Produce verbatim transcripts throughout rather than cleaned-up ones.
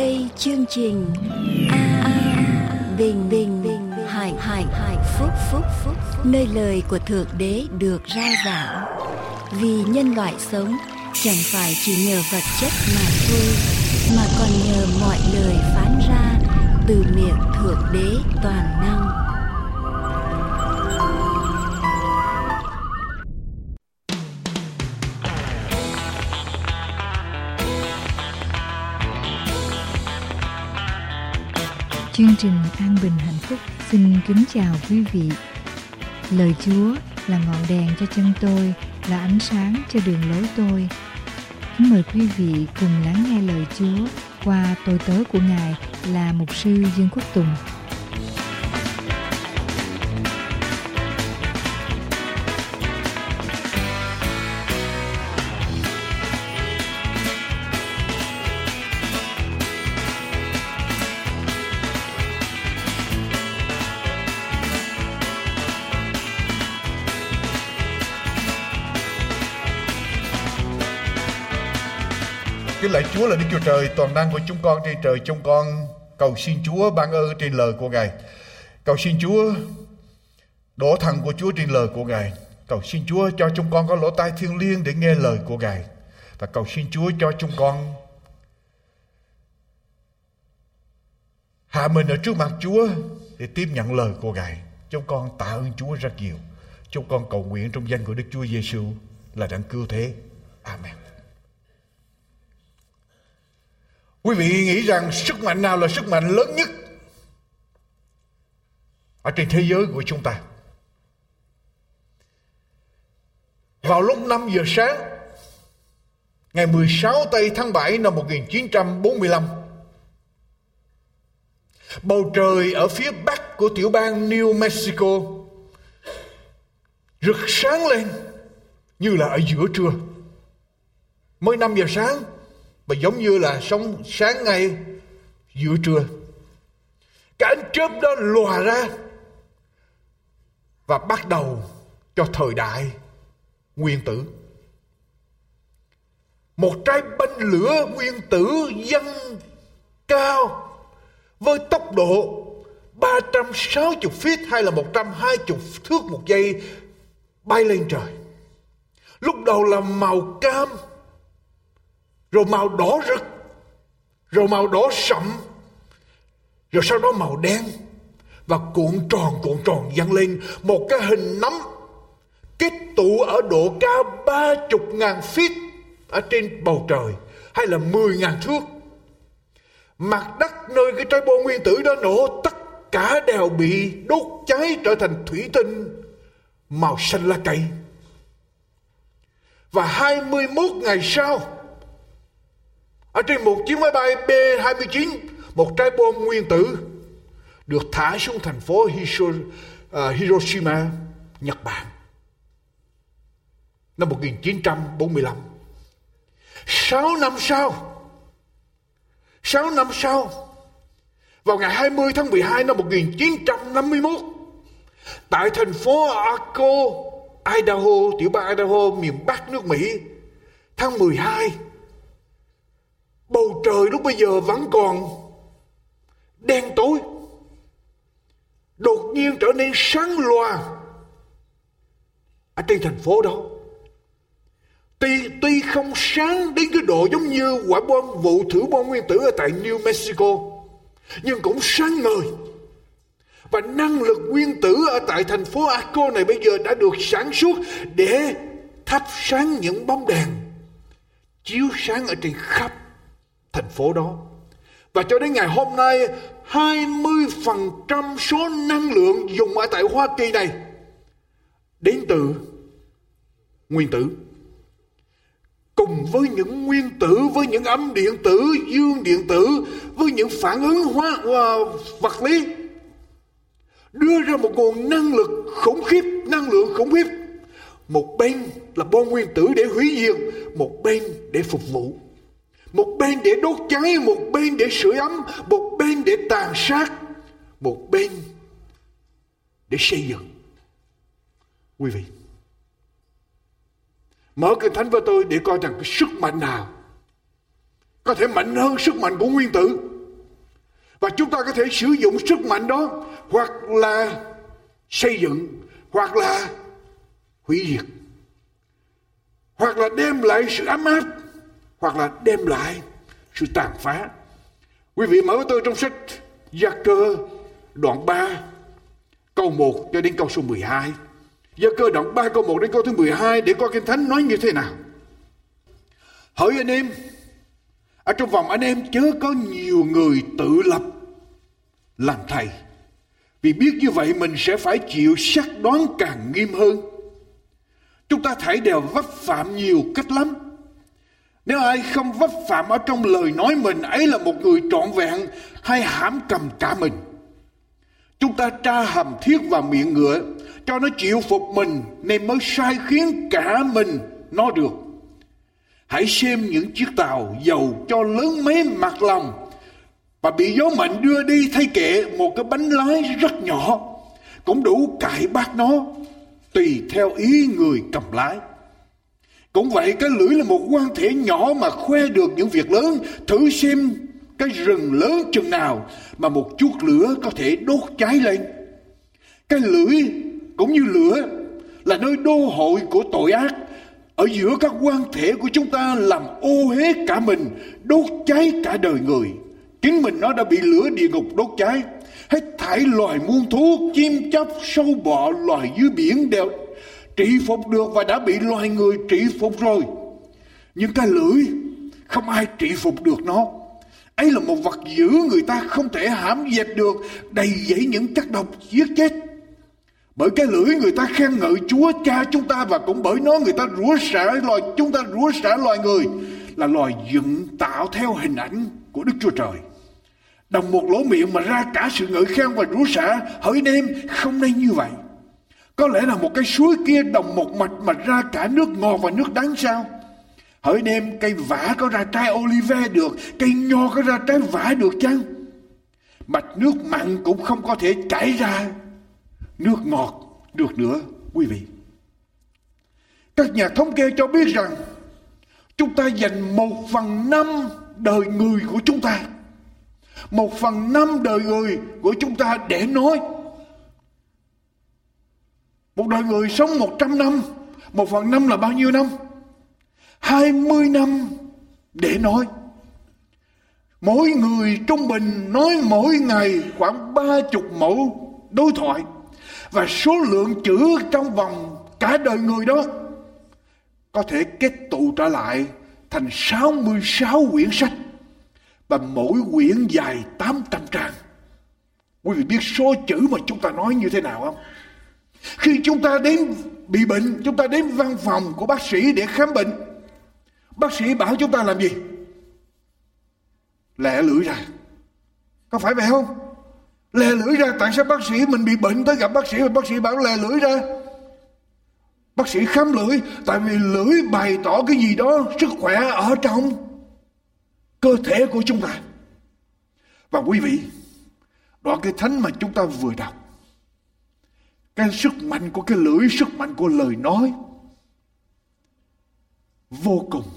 đây chương trình A, A Bình Bình Bình Hạnh Hạnh Hạnh Phúc Phúc Phúc, nơi lời của Thượng Đế được rao giảng. Vì nhân loại sống chẳng phải chỉ nhờ vật chất mà thôi, mà còn nhờ mọi lời phán ra từ miệng Thượng Đế toàn năng. Chương trình An Bình Hạnh Phúc xin kính chào quý vị. Lời Chúa là ngọn đèn cho chân tôi, là ánh sáng cho đường lối tôi. Kính mời quý vị cùng lắng nghe lời Chúa qua tôi tớ của Ngài là Mục sư Dương Quốc Tùng. Kính lạy Chúa là Đức Chúa Trời toàn năng của chúng con trên trời, chúng con cầu xin Chúa ban ơn trên lời của Ngài. Cầu xin Chúa đổ thần của Chúa trên lời của Ngài. Cầu xin Chúa cho chúng con có lỗ tai thiêng liêng để nghe lời của Ngài. Và cầu xin Chúa cho chúng con hạ mình ở trước mặt Chúa để tiếp nhận lời của Ngài. Chúng con tạ ơn Chúa rất nhiều. Chúng con cầu nguyện trong danh của Đức Chúa Giêsu là đấng cứu thế. Amen. Quý vị nghĩ rằng sức mạnh nào là sức mạnh lớn nhất ở trên thế giới của chúng ta? Vào lúc năm giờ sáng ngày mười sáu tây tháng bảy năm một nghìn chín trăm bốn mươi lăm, bầu trời ở phía bắc của tiểu bang New Mexico rực sáng lên như là ở giữa trưa. Mới năm giờ sáng và giống như là sống sáng ngay giữa trưa. Cái ánh chớp đó lòa ra và bắt đầu cho thời đại nguyên tử. Một trái banh lửa nguyên tử dâng cao với tốc độ ba trăm sáu mươi feet hay là một trăm hai mươi thước một giây bay lên trời. Lúc đầu là màu cam, rồi màu đỏ rực, rồi màu đỏ sậm, rồi sau đó màu đen, và cuộn tròn cuộn tròn dâng lên một cái hình nắm kết tụ ở độ cao ba mươi ngàn feet ở trên bầu trời, hay là mười ngàn thước. Mặt đất nơi cái trái bom nguyên tử đó nổ, tất cả đều bị đốt cháy trở thành thủy tinh màu xanh lá cây. Và hai mươi mốt ngày sau, ở trên một chiếc máy bay B hai mươi chín, một trái bom nguyên tử được thả xuống thành phố Hiroshima, Nhật Bản, năm một nghìn chín trăm bốn mươi lăm. Sáu năm sau, sáu năm sau, vào ngày hai mươi tháng mười hai năm một nghìn chín trăm năm mươi mốt, tại thành phố Arco, Idaho, tiểu bang Idaho, miền Bắc nước Mỹ, tháng mười hai, bầu trời lúc bây giờ vẫn còn đen tối, đột nhiên trở nên sáng loà ở trên thành phố đó. Tuy, tuy không sáng đến cái độ giống như quả bom vụ thử bom nguyên tử ở tại New Mexico, nhưng cũng sáng ngời. Và năng lực nguyên tử ở tại thành phố Arco này bây giờ đã được sản xuất để thắp sáng những bóng đèn chiếu sáng ở trên khắp thành phố đó. Và cho đến ngày hôm nay, hai mươi phần trăm số năng lượng dùng ở tại Hoa Kỳ này đến từ nguyên tử. Cùng với những nguyên tử, với những âm điện tử, dương điện tử, với những phản ứng hóa uh, vật lý, đưa ra một nguồn năng lực khủng khiếp, năng lượng khủng khiếp. Một bên là bom nguyên tử để hủy diệt, một bên để phục vụ. Một bên để đốt cháy, một bên để sưởi ấm, một bên để tàn sát, một bên để xây dựng. Quý vị, mở Kinh Thánh với tôi để coi rằng cái sức mạnh nào có thể mạnh hơn sức mạnh của nguyên tử. Và chúng ta có thể sử dụng sức mạnh đó hoặc là xây dựng, hoặc là hủy diệt, hoặc là đem lại sự ấm áp, hoặc là đem lại sự tàn phá. Quý vị mở với tôi trong sách Gia-cơ đoạn ba câu một cho đến câu số mười hai. Gia-cơ đoạn ba câu một đến câu thứ mười hai để coi Kinh Thánh nói như thế nào. Hỡi anh em, ở trong vòng anh em chớ có nhiều người tự lập làm thầy, vì biết như vậy mình sẽ phải chịu xác đoán càng nghiêm hơn. Chúng ta thảy đều vấp phạm nhiều cách lắm. Nếu ai không vấp phạm ở trong lời nói mình, ấy là một người trọn vẹn hay hãm cầm cả mình. Chúng ta tra hầm thiết vào miệng ngựa cho nó chịu phục mình, nên mới sai khiến cả mình nó được. Hãy xem những chiếc tàu dầu cho lớn mấy mặt lòng và bị gió mạnh đưa đi thay kệ, một cái bánh lái rất nhỏ cũng đủ cài bát nó, tùy theo ý người cầm lái. Cũng vậy, cái lưỡi là một quan thể nhỏ mà khoe được những việc lớn. Thử xem cái rừng lớn chừng nào mà một chút lửa có thể đốt cháy lên. Cái lưỡi cũng như lửa là nơi đô hội của tội ác. Ở giữa các quan thể của chúng ta làm ô hết cả mình, đốt cháy cả đời người. Chính mình nó đã bị lửa địa ngục đốt cháy. Hết thảy loài muôn thú, chim chóc, sâu bọ, loài dưới biển đều trị phục được và đã bị loài người trị phục rồi. Nhưng cái lưỡi không ai trị phục được nó. Ấy là một vật dữ người ta không thể hãm dẹp được, đầy dẫy những chất độc giết chết. Bởi cái lưỡi người ta khen ngợi Chúa Cha chúng ta, và cũng bởi nó người ta rủa xả loài chúng ta rủa xả loài người là loài dựng tạo theo hình ảnh của Đức Chúa Trời. Đồng một lỗ miệng mà ra cả sự ngợi khen và rủa xả. Hỡi anh em, không nên như vậy. Có lẽ là một cái suối kia đồng một mạch mà ra cả nước ngọt và nước đắng sao? Hỡi anh em, cây vả có ra trái olive được, cây nho có ra trái vả được chăng? Mạch nước mặn cũng không có thể chảy ra nước ngọt được nữa, quý vị. Các nhà thống kê cho biết rằng chúng ta dành một phần năm đời người của chúng ta, một phần năm đời người của chúng ta để nói. Một đời người sống một trăm năm, một phần năm là bao nhiêu năm? Hai mươi năm để nói. Mỗi người trung bình nói mỗi ngày khoảng ba chục mẫu đối thoại. Và số lượng chữ trong vòng cả đời người đó có thể kết tụ trở lại thành sáu mươi sáu quyển sách. Và mỗi quyển dài tám trăm trang. Quý vị biết số chữ mà chúng ta nói như thế nào không? Khi chúng ta đến bị bệnh, chúng ta đến văn phòng của bác sĩ để khám bệnh, bác sĩ bảo chúng ta làm gì? Lẹ lưỡi ra. Có phải vậy không? Lè lưỡi ra. Tại sao bác sĩ mình bị bệnh tới gặp bác sĩ và bác sĩ bảo lè lưỡi ra? Bác sĩ khám lưỡi. Tại vì lưỡi bày tỏ cái gì đó sức khỏe ở trong cơ thể của chúng ta. Và quý vị, đoạn Kinh Thánh mà chúng ta vừa đọc, cái sức mạnh của cái lưỡi, sức mạnh của lời nói vô cùng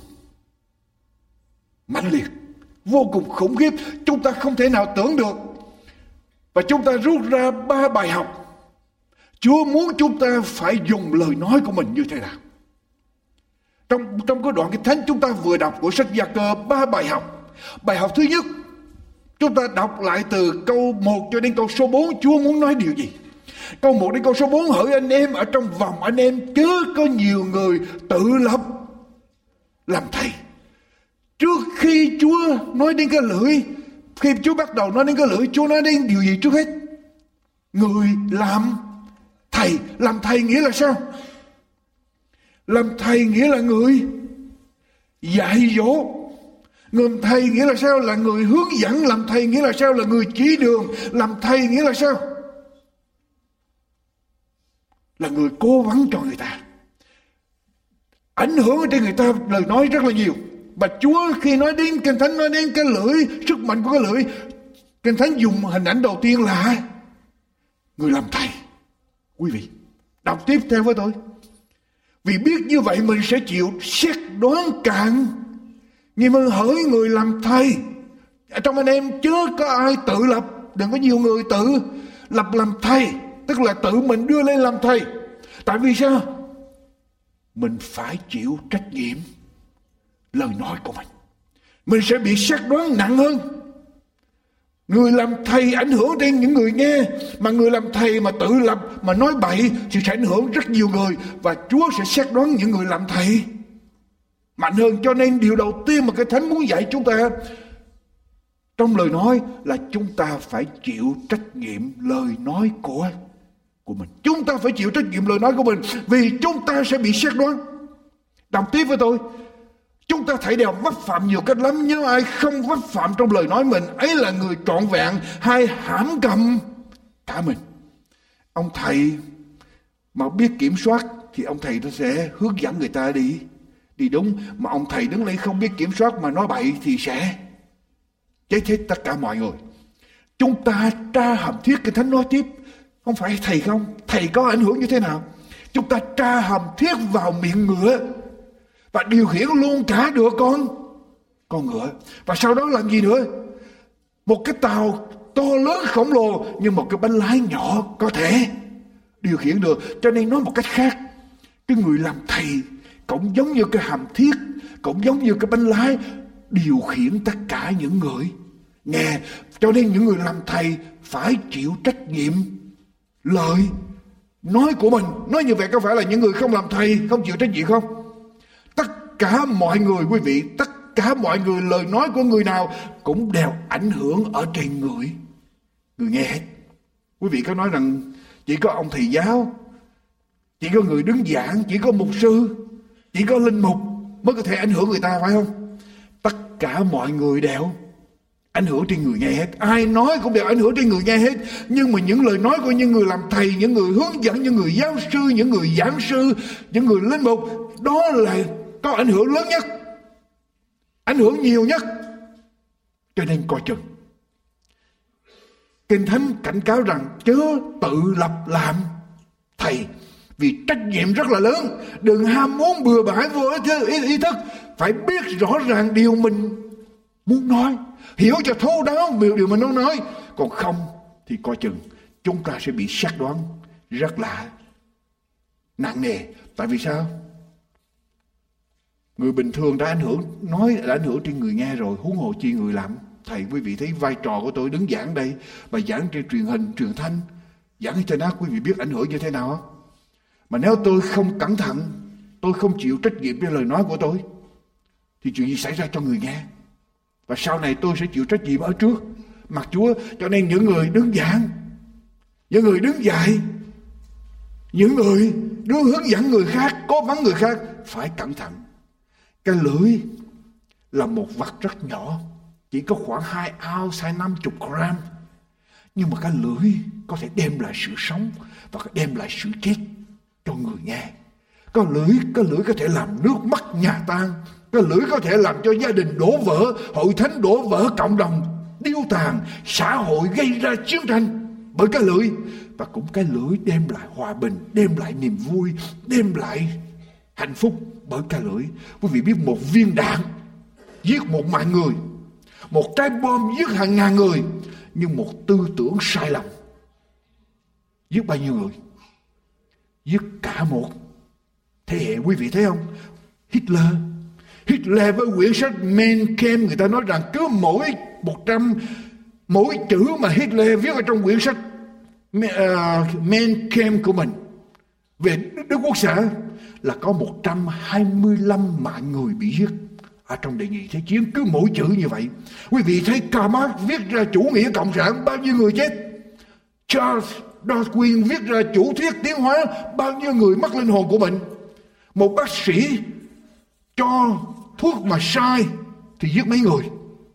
mãnh liệt, vô cùng khủng khiếp. Chúng ta không thể nào tưởng được. Và chúng ta rút ra ba bài học. Chúa muốn chúng ta phải dùng lời nói của mình như thế nào. Trong, trong cái đoạn Kinh Thánh chúng ta vừa đọc của sách Gia-cơ, ba bài học. Bài học thứ nhất, chúng ta đọc lại từ câu một cho đến câu số bốn. Chúa muốn nói điều gì? Câu một đến câu số bốn: hỡi anh em, ở trong vòng anh em chớ có nhiều người tự lập làm thầy. Trước khi Chúa nói đến cái lưỡi, khi Chúa bắt đầu nói đến cái lưỡi, Chúa nói đến điều gì trước hết? Người làm thầy. Làm thầy nghĩa là sao? Làm thầy nghĩa là người dạy dỗ. Người làm thầy nghĩa là sao? Là người hướng dẫn. Làm thầy nghĩa là sao? Là người chỉ đường. Làm thầy nghĩa là sao? Là người cố vấn cho người ta, ảnh hưởng trên người ta lời nói rất là nhiều. Và Chúa khi nói đến Kinh Thánh, nói đến cái lưỡi, sức mạnh của cái lưỡi, Kinh Thánh dùng hình ảnh đầu tiên là người làm thầy. Quý vị đọc tiếp theo với tôi. Vì biết như vậy mình sẽ chịu xét đoán cạn. Nhưng mà hỡi người làm thầy, Trong anh em chớ có ai tự lập, đừng có nhiều người tự lập làm thầy, tức là tự mình đưa lên làm thầy. Tại vì sao? Mình phải chịu trách nhiệm lời nói của mình. Mình sẽ bị xét đoán nặng hơn. Người làm thầy ảnh hưởng đến những người nghe, mà người làm thầy mà tự lập, mà nói bậy thì sẽ ảnh hưởng rất nhiều người, và Chúa sẽ xét đoán những người làm thầy mạnh hơn. Cho nên điều đầu tiên mà cái Thánh muốn dạy chúng ta trong lời nói là chúng ta phải chịu trách nhiệm lời nói của của mình. Chúng ta phải chịu trách nhiệm lời nói của mình, vì chúng ta sẽ bị xét đoán. Đọc tiếp với tôi. Chúng ta thấy đều vấp phạm nhiều cách lắm, nhưng ai không vấp phạm trong lời nói mình, ấy là người trọn vẹn hay hãm cầm cả mình. Ông thầy mà biết kiểm soát thì ông thầy nó sẽ hướng dẫn người ta đi đi đúng, mà ông thầy đứng lên không biết kiểm soát mà nói bậy thì sẽ chết hết tất cả mọi người. Chúng ta tra hàm thiết Kinh Thánh nói tiếp, không phải thầy không, thầy có ảnh hưởng như thế nào? Chúng ta tra hàm thiết vào miệng ngựa và điều khiển luôn cả được con con ngựa. Và sau đó làm gì nữa? Một cái tàu to lớn khổng lồ, nhưng một cái bánh lái nhỏ có thể điều khiển được. Cho nên nói một cách khác, cái người làm thầy cũng giống như cái hàm thiết, cũng giống như cái bánh lái điều khiển tất cả những người nghe. Cho nên những người làm thầy phải chịu trách nhiệm lời nói của mình. Nói như vậy có phải là những người không làm thầy không chịu trách nhiệm không? Tất cả mọi người, quý vị, tất cả mọi người, lời nói của người nào cũng đều ảnh hưởng ở trên người người nghe hết. Quý vị có nói rằng chỉ có ông thầy giáo, chỉ có người đứng giảng, chỉ có mục sư, chỉ có linh mục mới có thể ảnh hưởng người ta, phải không? Tất cả mọi người đều ảnh hưởng trên người nghe hết. Ai nói cũng đều ảnh hưởng trên người nghe hết. Nhưng mà những lời nói của những người làm thầy, những người hướng dẫn, những người giáo sư, những người giảng sư, những người linh mục, đó là có ảnh hưởng lớn nhất, ảnh hưởng nhiều nhất. Cho nên coi chừng. Kinh Thánh cảnh cáo rằng chớ tự lập làm thầy, vì trách nhiệm rất là lớn. Đừng ham muốn bừa bãi vô ý, ý thức. Phải biết rõ ràng điều mình muốn nói, hiểu cho thấu đáo điều mình muốn nói. Còn không thì coi chừng chúng ta sẽ bị xét đoán rất là nặng nề. Tại vì sao? Người bình thường đã ảnh hưởng, nói đã ảnh hưởng trên người nghe rồi, huống hồ chi người làm thầy. Quý vị thấy vai trò của tôi đứng giảng đây, và giảng trên truyền hình, truyền thanh, giảng internet, quý vị biết ảnh hưởng như thế nào không? Mà nếu tôi không cẩn thận, tôi không chịu trách nhiệm với lời nói của tôi, thì chuyện gì xảy ra cho người nghe? Và sau này tôi sẽ chịu trách nhiệm ở trước mặt Chúa. Cho nên những người đứng giảng, những người đứng dạy, những người đưa hướng dẫn người khác, cố vấn người khác, phải cẩn thận. Cái lưỡi là một vật rất nhỏ, chỉ có khoảng hai ounce, hai năm chục gram. Nhưng mà cái lưỡi có thể đem lại sự sống và đem lại sự chết cho người nghe. Cái lưỡi, cái lưỡi có thể làm nước mắt nhà tan. Cái lưỡi có thể làm cho gia đình đổ vỡ, hội thánh đổ vỡ, cộng đồng điêu tàn, xã hội gây ra chiến tranh bởi cái lưỡi. Và cũng cái lưỡi đem lại hòa bình, đem lại niềm vui, đem lại hạnh phúc bởi cái lưỡi. Quý vị biết một viên đạn giết một mạng người, một trái bom giết hàng ngàn người, nhưng một tư tưởng sai lầm giết bao nhiêu người? Giết cả một thế hệ. Quý vị thấy không? Hitler Hitler với quyển sách Mein Kampf, người ta nói rằng cứ mỗi một trăm mỗi chữ mà Hitler viết ở trong quyển sách uh, Mein Kampf của mình về Đức Quốc xã là có một trăm hai mươi lăm mạng người bị giết ở trong đệ nhị thế chiến. Cứ mỗi chữ như vậy. Quý vị thấy Karl Marx viết ra chủ nghĩa cộng sản, bao nhiêu người chết? Charles Darwin viết ra chủ thuyết tiến hóa, bao nhiêu người mất linh hồn của mình? Một bác sĩ cho thuốc mà sai thì giết mấy người?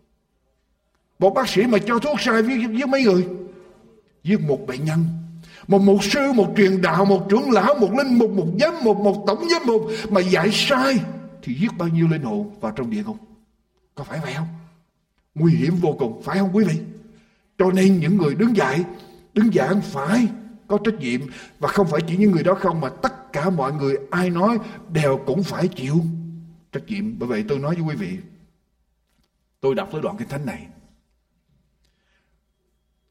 Một bác sĩ mà cho thuốc sai giết, giết mấy người? Giết một bệnh nhân. Một mục sư, một truyền đạo, một trưởng lão, một linh mục, một giám mục, một tổng giám mục mà dạy sai thì giết bao nhiêu linh hồn vào trong địa ngục? Có phải vậy không? Nguy hiểm vô cùng, phải không quý vị? Cho nên những người đứng dạy, đứng giảng phải có trách nhiệm. Và không phải chỉ những người đó không, mà tất cả mọi người ai nói đều cũng phải chịu trách nhiệm. Bởi vậy tôi nói với quý vị, tôi đọc tới đoạn kinh thánh này,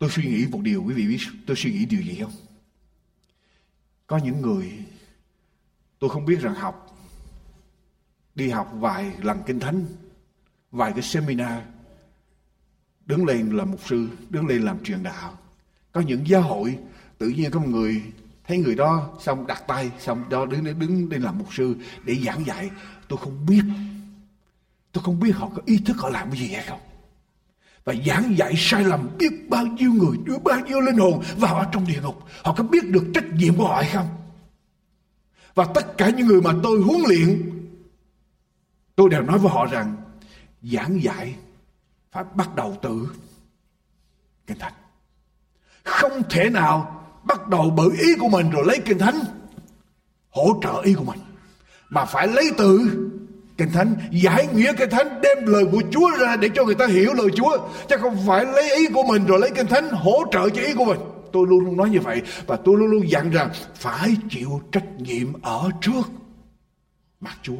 Tôi suy nghĩ một điều, quý vị biết tôi suy nghĩ điều gì không? Có những người tôi không biết rằng học, đi học vài lần kinh thánh, vài cái seminar, đứng lên làm mục sư, đứng lên làm truyền đạo. Có những giáo hội tự nhiên có một người thấy người đó xong đặt tay, xong đó đứng đứng lên làm mục sư để giảng dạy. Tôi không biết, tôi không biết họ có ý thức họ làm cái gì hay không. Và giảng dạy sai lầm biết bao nhiêu người, đưa bao nhiêu linh hồn vào ở trong địa ngục. Họ có biết được trách nhiệm của họ hay không? Và tất cả những người mà tôi huấn luyện, tôi đều nói với họ rằng giảng dạy phải bắt đầu từ Kinh Thánh. Không thể nào bắt đầu bởi ý của mình rồi lấy Kinh Thánh hỗ trợ ý của mình, mà phải lấy từ Kinh Thánh, giải nghĩa Kinh Thánh, đem lời của Chúa ra để cho người ta hiểu lời Chúa, chứ không phải lấy ý của mình rồi lấy Kinh Thánh hỗ trợ cho ý của mình. Tôi luôn luôn nói như vậy, và tôi luôn luôn dặn rằng phải chịu trách nhiệm ở trước mặt Chúa.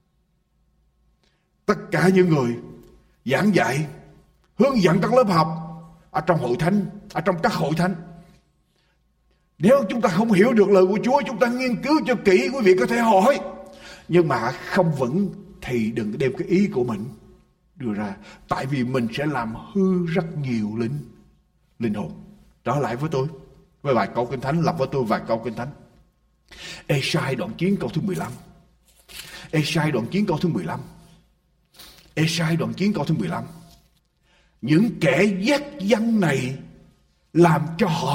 Tất cả những người giảng dạy, hướng dẫn các lớp học ở trong hội thánh, ở trong các hội thánh, nếu chúng ta không hiểu được lời của Chúa, chúng ta nghiên cứu cho kỹ, quý vị có thể hỏi, nhưng mà không vững thì đừng đem cái ý của mình đưa ra, tại vì mình sẽ làm hư rất nhiều linh linh hồn. Trở lại với tôi với vài câu Kinh Thánh, lập với tôi vài câu Kinh Thánh. Ê-sai đoạn chín câu thứ mười lăm. Ê-sai đoạn chín câu thứ mười lăm. Ê-sai đoạn chín câu thứ mười lăm. Những kẻ dắt dân này làm cho họ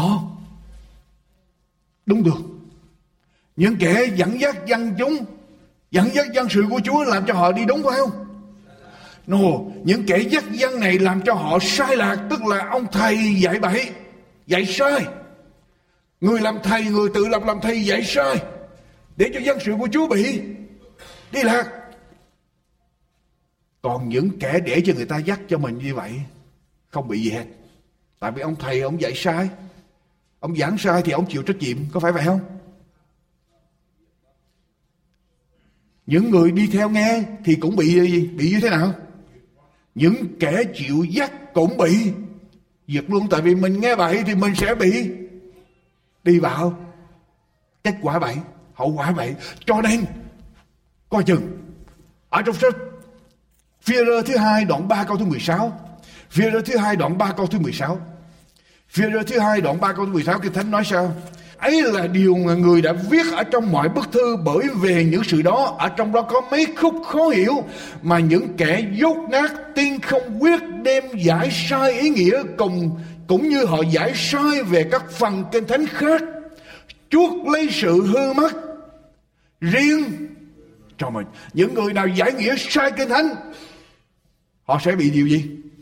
đúng được. Những kẻ dẫn dắt dân chúng, dẫn dắt dân sự của Chúa làm cho họ đi đúng, phải không? No, những kẻ dắt dân này làm cho họ sai lạc, tức là ông thầy dạy bậy, dạy sai. Người làm thầy, người tự lập làm thầy dạy sai, để cho dân sự của Chúa bị đi lạc. Còn những kẻ để cho người ta dắt cho mình như vậy không bị gì hết, tại vì ông thầy ông dạy sai, ông giảng sai thì ông chịu trách nhiệm, có phải vậy không? Những người đi theo nghe thì cũng bị gì? Bị như thế nào? Những kẻ chịu dắt cũng bị diệt luôn, tại vì mình nghe bậy thì mình sẽ bị đi vào kết quả bậy, hậu quả bậy. Cho nên coi chừng. Ở trong sách Phi-e-rơ thứ hai đoạn ba câu thứ mười sáu, Phi-e-rơ thứ hai đoạn ba câu thứ mười sáu, Phi-e-rơ thứ hai đoạn ba câu thứ mười sáu, Kinh Thánh nói sao? Ấy là điều mà người đã viết ở trong mọi bức thư, bởi về những sự đó ở trong đó có mấy khúc khó hiểu mà những kẻ dốt nát tiên không quyết đem giải sai ý nghĩa, cùng cũng như họ giải sai về các phần Kinh Thánh khác, chuốc lấy sự hư mất riêng cho mình. Những người nào giải nghĩa sai Kinh Thánh, họ sẽ bị điều gì?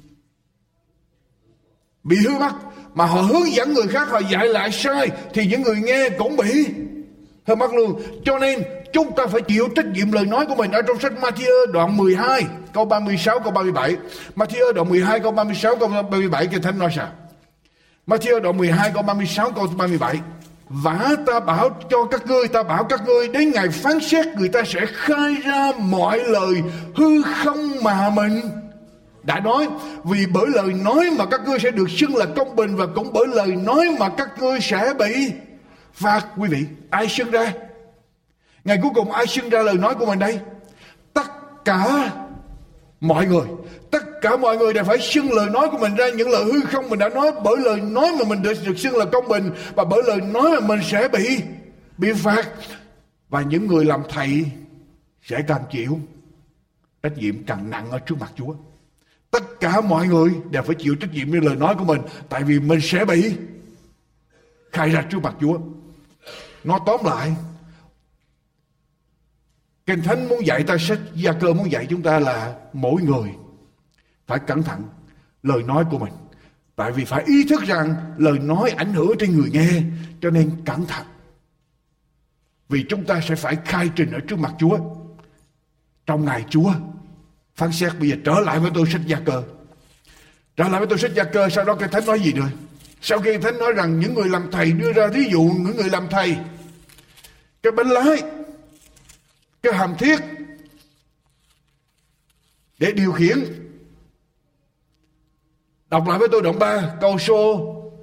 Bị hư mất. Mà họ hướng dẫn người khác, họ dạy lại sai, thì những người nghe cũng bị hư mất luôn. Cho nên chúng ta phải chịu trách nhiệm lời nói của mình. Ở trong sách Ma-thi-ơ đoạn mười hai câu ba mươi sáu câu ba mươi bảy, Ma-thi-ơ đoạn mười hai câu ba mươi sáu câu ba mươi bảy, Kinh Thánh nói sao? Ma-thi-ơ đoạn mười hai câu ba mươi sáu câu ba mươi bảy: Vả ta bảo cho các ngươi, ta bảo các ngươi, đến ngày phán xét người ta sẽ khai ra mọi lời hư không mà mình đã nói, vì bởi lời nói mà các ngươi sẽ được xưng là công bình, và cũng bởi lời nói mà các ngươi sẽ bị phạt. Quý vị, ai xưng ra? Ngày cuối cùng ai xưng ra lời nói của mình đây? Tất cả mọi người. Tất cả mọi người đều phải xưng lời nói của mình ra, những lời hư không mình đã nói, bởi lời nói mà mình được, được xưng là công bình, và bởi lời nói mà mình sẽ bị bị phạt. Và những người làm thầy sẽ càng chịu trách nhiệm càng nặng ở trước mặt Chúa. Tất cả mọi người đều phải chịu trách nhiệm với lời nói của mình, tại vì mình sẽ bị khai ra trước mặt Chúa. Nói tóm lại, Kinh Thánh muốn dạy ta, sách Gia-cơ muốn dạy chúng ta là mỗi người phải cẩn thận lời nói của mình, tại vì phải ý thức rằng lời nói ảnh hưởng trên người nghe, cho nên cẩn thận, vì chúng ta sẽ phải khai trình ở trước mặt Chúa trong ngày Chúa phán xét. Bây giờ trở lại với tôi sách Gia-cơ, trở lại với tôi sách Gia-cơ. Sau đó Kinh Thánh nói gì nữa? Sau khi Kinh Thánh nói rằng những người làm thầy đưa ra thí dụ, những người làm thầy, cái bánh lái, cái hàm thiết để điều khiển. Đọc lại với tôi đoạn ba câu số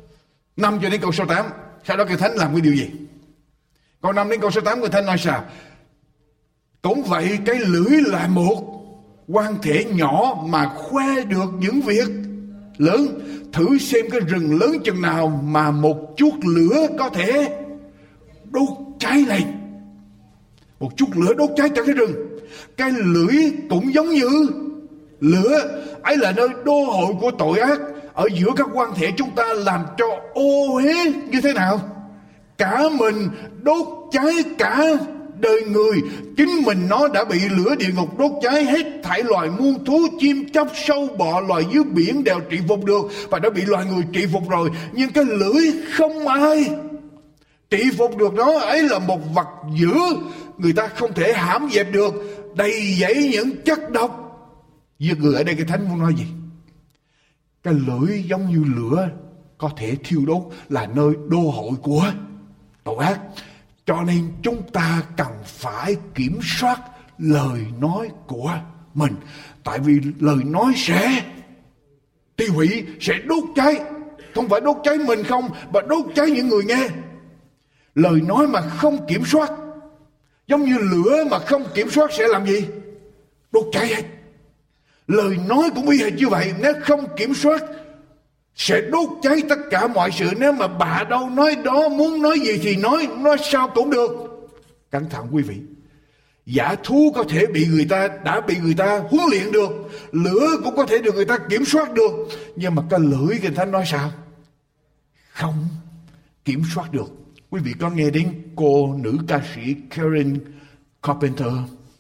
năm cho đến câu số tám. Sau đó Kinh Thánh làm cái điều gì? Câu năm đến câu số tám Kinh Thánh nói sao? Cũng vậy, cái lưỡi là một quan thể nhỏ mà khoe được những việc lớn. Thử xem cái rừng lớn chừng nào mà một chút lửa có thể đốt cháy lên. Một chút lửa đốt cháy cho cái rừng. Cái lưỡi cũng giống như lửa, ấy là nơi đô hội của tội ác. Ở giữa các quan thể chúng ta làm cho ô uế như thế nào? Cả mình đốt cháy cả đời người. Chính mình nó đã bị lửa địa ngục đốt cháy. Hết thảy loài muôn thú, chim chóc, sâu bọ, loài dưới biển đều trị phục được, và đã bị loài người trị phục rồi. Nhưng cái lưỡi không ai trị phục được nó. Ấy là một vật dữ, người ta không thể hãm dẹp được, đầy dẫy những chất độc. Giết người ở đây cái Thánh muốn nói gì? Cái lưỡi giống như lửa có thể thiêu đốt, là nơi đô hội của tội ác. Cho nên chúng ta cần phải kiểm soát lời nói của mình. Tại vì lời nói sẽ tiêu hủy, sẽ đốt cháy. Không phải đốt cháy mình không, mà đốt cháy những người nghe. Lời nói mà không kiểm soát, giống như lửa mà không kiểm soát sẽ làm gì? Đốt cháy hết. Lời nói cũng y hệt như vậy. Nếu không kiểm soát sẽ đốt cháy tất cả mọi sự. Nếu mà bà đâu nói đó, muốn nói gì thì nói, nói sao cũng được. Cẩn thận quý vị. Giả thú có thể bị người ta, đã bị người ta huấn luyện được. Lửa cũng có thể được người ta kiểm soát được. Nhưng mà cái lưỡi Kinh Thánh nói sao? Không kiểm soát được. Quý vị có nghe đến cô nữ ca sĩ Karen Carpenter?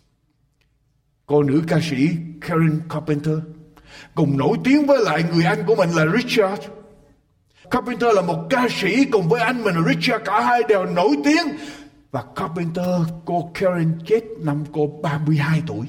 Cô nữ ca sĩ Karen Carpenter cùng nổi tiếng với lại người anh của mình là Richard. Carpenter là một ca sĩ cùng với anh mình là Richard, cả hai đều nổi tiếng. Và Carpenter, cô Karen chết năm cô ba mươi hai tuổi.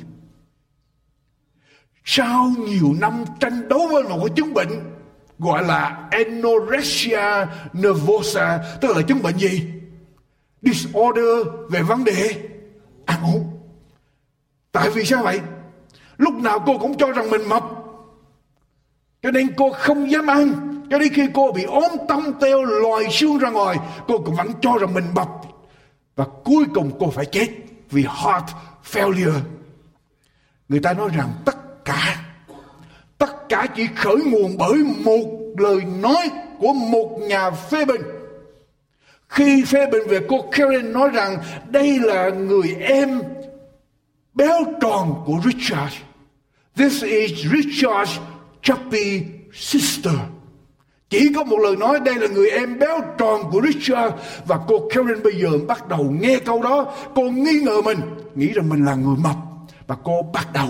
Sau nhiều năm tranh đấu với một cái chứng bệnh gọi là anorexia nervosa, tức là chứng bệnh gì? Disorder về vấn đề ăn uống. Tại vì sao vậy? Lúc nào cô cũng cho rằng mình mập, cho nên cô không dám ăn. Cho đến khi cô bị ốm tông teo lòi xương ra ngoài, cô cũng vẫn cho rằng mình mập. Và cuối cùng cô phải chết vì heart failure. Người ta nói rằng tất cả, tất cả chỉ khởi nguồn bởi một lời nói của một nhà phê bình. Khi phê bình về cô Karen nói rằng đây là người em béo tròn của Richard. This is Richard's chubby sister. Chỉ có một lời nói, đây là người em béo tròn của Richard. Và cô Karen bây giờ bắt đầu nghe câu đó. Cô nghi ngờ mình, nghĩ rằng mình là người mập. Và cô bắt đầu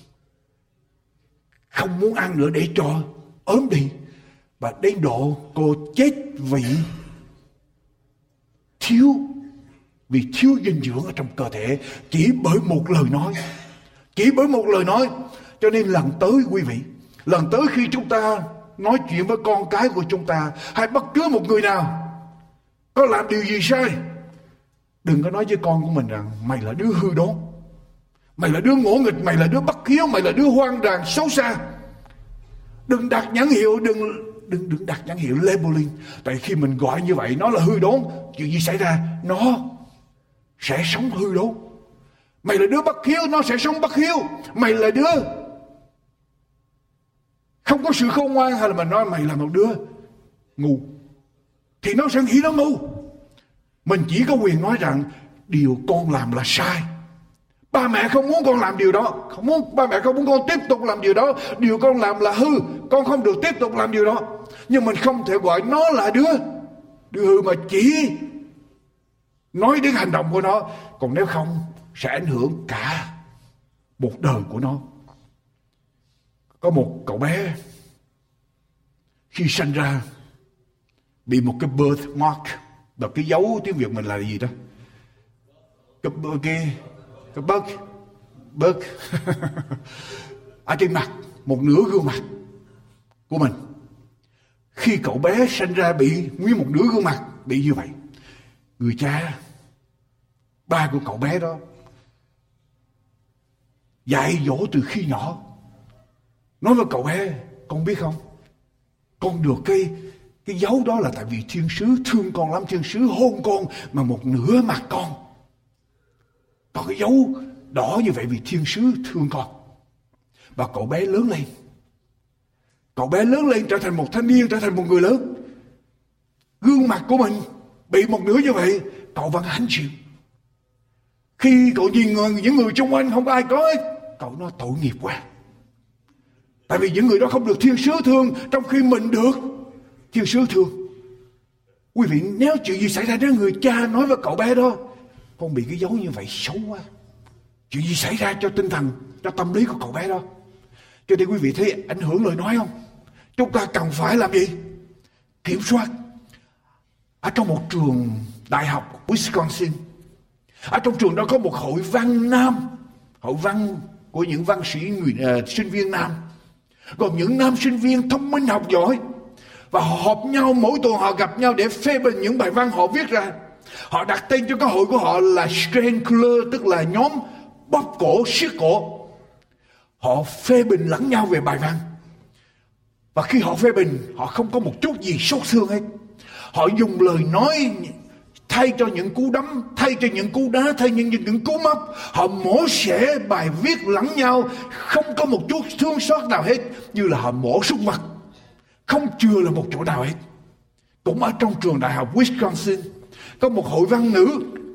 không muốn ăn nữa để cho ốm đi. Và đến độ cô chết vì thiếu Vì thiếu dinh dưỡng ở trong cơ thể. Chỉ bởi một lời nói. Chỉ bởi một lời nói. Cho nên lần tới quý vị, lần tới khi chúng ta nói chuyện với con cái của chúng ta, hay bất cứ một người nào có làm điều gì sai, đừng có nói với con của mình rằng mày là đứa hư đốn, mày là đứa ngỗ nghịch, mày là đứa bất hiếu, mày là đứa hoang đàn xấu xa. Đừng đặt nhãn hiệu, đừng đừng đừng đặt nhãn hiệu labeling. Tại khi mình gọi như vậy, nó là hư đốn, chuyện gì xảy ra? Nó sẽ sống hư đốn. Mày là đứa bất hiếu, nó sẽ sống bất hiếu. Mày là đứa không có sự khôn ngoan, hay là mình nói mày là một đứa ngu, thì nó sẽ nghĩ nó ngu. Mình chỉ có quyền nói rằng điều con làm là sai. Ba mẹ không muốn con làm điều đó, không muốn, ba mẹ không muốn con tiếp tục làm điều đó. Điều con làm là hư, con không được tiếp tục làm điều đó. Nhưng mình không thể gọi nó là đứa đứa hư, mà chỉ nói đến hành động của nó. Còn nếu không, sẽ ảnh hưởng cả một đời của nó. Có một cậu bé khi sinh ra bị một cái birthmark, là cái dấu tiếng Việt mình là gì đó, cái cái cái bớt bớt ở trên mặt, một nửa gương mặt của mình. Khi cậu bé sinh ra bị nguyên một nửa gương mặt bị như vậy, người cha, ba của cậu bé đó dạy dỗ từ khi nhỏ, nói với cậu bé, con biết không, con được cái Cái dấu đó là tại vì thiên sứ thương con lắm, thiên sứ hôn con mà một nửa mặt con. Có cái dấu đỏ như vậy vì thiên sứ thương con. Và cậu bé lớn lên. Cậu bé lớn lên trở thành một thanh niên, trở thành một người lớn. Gương mặt của mình bị một nửa như vậy, cậu vẫn hãnh chịu. Khi cậu nhìn người, những người xung quanh không có ai có hết, cậu nói tội nghiệp quá. Tại vì những người đó không được thiên sứ thương, trong khi mình được thiên sứ thương. Quý vị, nếu chuyện gì xảy ra đến người cha nói với cậu bé đó, con bị cái dấu như vậy xấu quá. Chuyện gì xảy ra cho tinh thần, cho tâm lý của cậu bé đó. Cho nên quý vị thấy ảnh hưởng lời nói không? Chúng ta cần phải làm gì? Kiểm soát. Ở trong một trường đại học Wisconsin, ở trong trường đó có một hội văn nam, hội văn của những văn sĩ người, uh, sinh viên nam, gồm những nam sinh viên thông minh học giỏi, và họ họp nhau mỗi tuần, họ gặp nhau để phê bình những bài văn họ viết ra. Họ đặt tên cho cái hội của họ là Strangler, tức là nhóm bóp cổ, siết cổ. Họ phê bình lẫn nhau về bài văn. Và khi họ phê bình, họ không có một chút gì xót thương hết. Họ dùng lời nói thay cho những cú đấm, thay cho những cú đá, thay cho những, những cú móc. Họ mổ xẻ bài viết lẫn nhau, không có một chút thương xót nào hết, như là họ mổ súc vật, không chừa là một chỗ nào hết. Cũng ở trong trường đại học Wisconsin có một hội văn nữ.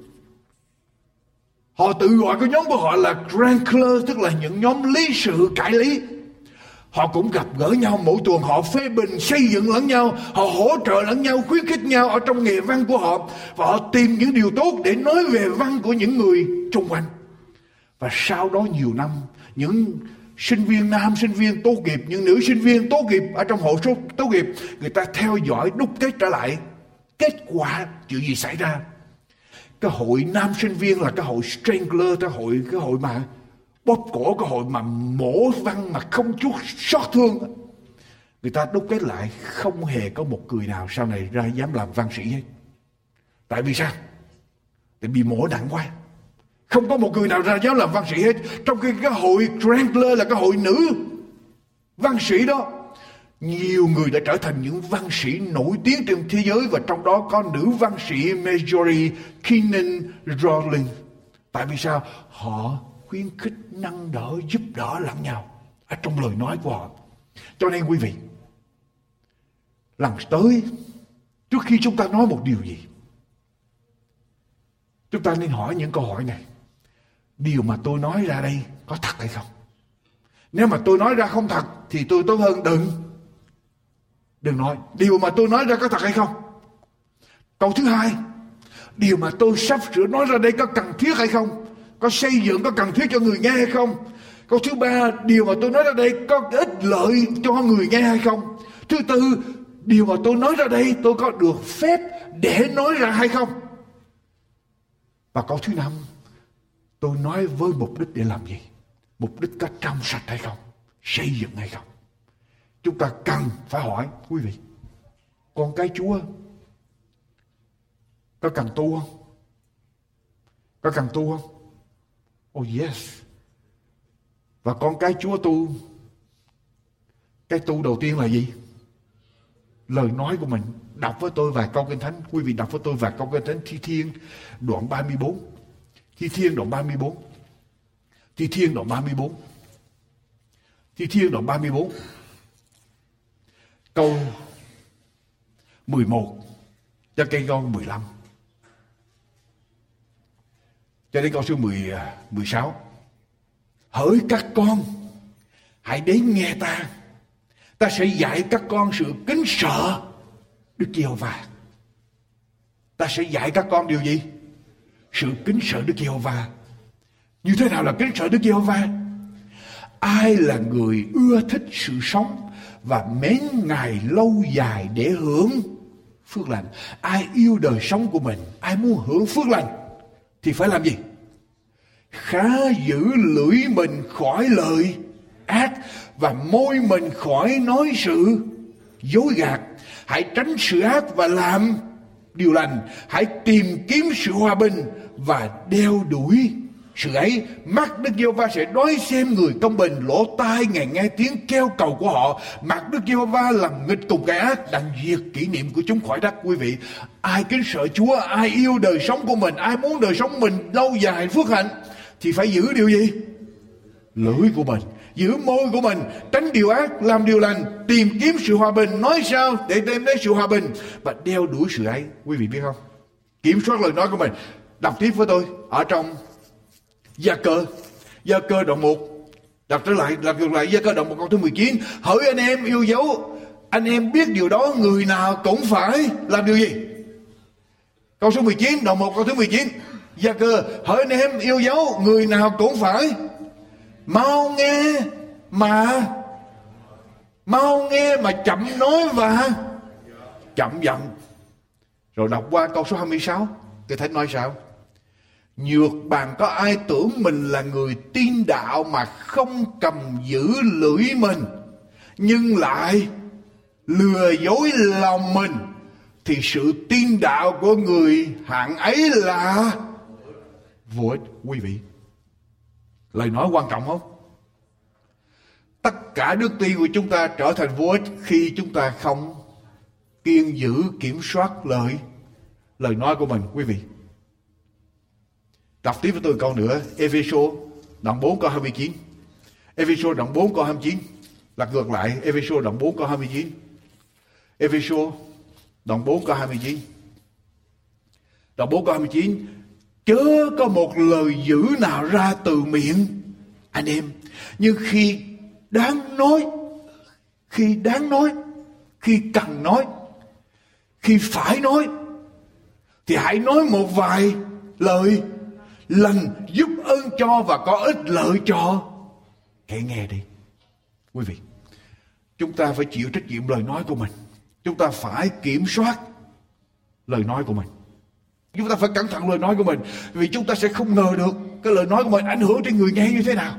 Họ tự gọi cái nhóm của họ là Wrangler, tức là những nhóm lý sự cãi lý. Họ cũng gặp gỡ nhau mỗi tuần, họ phê bình, xây dựng lẫn nhau, họ hỗ trợ lẫn nhau, khuyến khích nhau ở trong nghề văn của họ. Và họ tìm những điều tốt để nói về văn của những người xung quanh. Và sau đó nhiều năm, những sinh viên nam, sinh viên tốt nghiệp, những nữ sinh viên tốt nghiệp ở trong hội số tốt nghiệp, người ta theo dõi đúc kết trở lại kết quả chuyện gì xảy ra. Cái hội nam sinh viên là cái hội Strangler, cái hội cái hội mà bóp cổ, cái hội mà mổ văn mà không chút xót thương. Người ta đúc kết lại không hề có một người nào sau này ra dám làm văn sĩ hết. Tại vì sao? Tại bị mổ nặng quá. Không có một người nào ra dám làm văn sĩ hết. Trong khi cái hội Strangler là cái hội nữ văn sĩ đó, nhiều người đã trở thành những văn sĩ nổi tiếng trên thế giới, và trong đó có nữ văn sĩ Marjorie Kinnan Rowling. Tại vì sao? Họ khuyến khích, nâng đỡ, giúp đỡ lẫn nhau ở trong lời nói của họ. Cho nên quý vị, lần tới trước khi chúng ta nói một điều gì, chúng ta nên hỏi những câu hỏi này. Điều mà tôi nói ra đây có thật hay không? Nếu mà tôi nói ra không thật thì tôi tốt hơn đừng Đừng nói. Điều mà tôi nói ra có thật hay không? Câu thứ hai, điều mà tôi sắp sửa nói ra đây có cần thiết hay không? Có xây dựng, có cần thiết cho người nghe hay không? Câu thứ ba, điều mà tôi nói ra đây có ích lợi cho người nghe hay không? Thứ tư, điều mà tôi nói ra đây tôi có được phép để nói ra hay không? Và câu thứ năm, tôi nói với mục đích để làm gì? Mục đích có trong sạch hay không? Xây dựng hay không? Chúng ta cần phải hỏi, quý vị, con cái Chúa có cần tu không? Có cần tu không? Oh yes. Và con cái Chúa tu, cái tu đầu tiên là gì? Lời nói của mình. Đọc với tôi vài câu Kinh Thánh. Quý vị đọc với tôi vài câu Kinh Thánh. Thi Thiên đoạn ba mươi bốn. Thi Thiên đoạn ba mươi bốn. Thi Thiên đoạn ba mươi bốn. Thi Thiên đoạn ba mươi bốn. Câu mười một cho cây câu mười lăm. Cho đến câu số mười, mười sáu. Hỡi các con, hãy đến nghe ta. Ta sẽ dạy các con sự kính sợ Đức Giê-hô-va. Ta sẽ dạy các con điều gì? Sự kính sợ Đức Giê-hô-va. Như thế nào là kính sợ Đức Giê-hô-va? Ai là người ưa thích sự sống và mến Ngài lâu dài để hưởng phước lành? Ai yêu đời sống của mình, ai muốn hưởng phước lành thì phải làm gì? Khá giữ lưỡi mình khỏi lời ác và môi mình khỏi nói sự dối gạt. Hãy tránh sự ác và làm điều lành. Hãy tìm kiếm sự hòa bình và đeo đuổi sự ấy mắt Đức Giê-hô-va sẽ đói xem người công bình, lỗ tai Ngài nghe tiếng kêu cầu của họ. Mặt Đức Giê-hô-va làm nghịch cùng kẻ ác, đặng diệt kỷ niệm của chúng khỏi đất. Quý vị, ai kính sợ Chúa, ai yêu đời sống của mình, ai muốn đời sống mình lâu dài phước hạnh, thì phải giữ điều gì? Lưỡi của mình, giữ môi của mình, tránh điều ác, làm điều lành, tìm kiếm sự hòa bình, nói sao để đem đến sự hòa bình và đeo đuổi sự ấy. Quý vị biết không? Kiểm soát lời nói của mình. Đọc tiếp với tôi ở trong Gia Cơ, Gia Cơ đoạn một, đọc trở lại, đọc ngược lại Gia Cơ đoạn một câu thứ mười chín. Hỡi anh em yêu dấu, anh em biết điều đó, người nào cũng phải làm điều gì? Câu số mười chín, đoạn một câu thứ mười chín, Gia Cơ. Hỡi anh em yêu dấu, người nào cũng phải mau nghe mà mau nghe mà chậm nói và chậm giận. Rồi đọc qua câu số hai mươi sáu, Kinh Thánh nói sao? Nhược bàn có ai tưởng mình là người tin đạo mà không cầm giữ lưỡi mình, nhưng lại lừa dối lòng mình, thì sự tin đạo của người hạng ấy là vô ích. Quý vị, lời nói quan trọng không? Tất cả đức tin của chúng ta trở thành vô ích khi chúng ta không kiên giữ kiểm soát lời lời nói của mình. Quý vị, đọc tiếp với tôi câu nữa, Ê-phê-sô đoạn bốn câu hai mươi chín. Ê-phê-sô đoạn bốn câu hai mươi chín, lật ngược lại Ê-phê-sô đoạn bốn câu hai mươi chín. Ê-phê-sô đoạn bốn câu hai mươi chín. Đoạn bốn câu hai mươi chín. Chớ có một lời dữ nào ra từ miệng anh em, nhưng khi đáng nói, khi đáng nói, khi cần nói, khi phải nói, thì hãy nói một vài lời lành, giúp ơn cho và có ích lợi cho kẻ nghe đi. Quý vị, chúng ta phải chịu trách nhiệm lời nói của mình. Chúng ta phải kiểm soát lời nói của mình. Chúng ta phải cẩn thận lời nói của mình, vì chúng ta sẽ không ngờ được cái lời nói của mình ảnh hưởng đến người nghe như thế nào.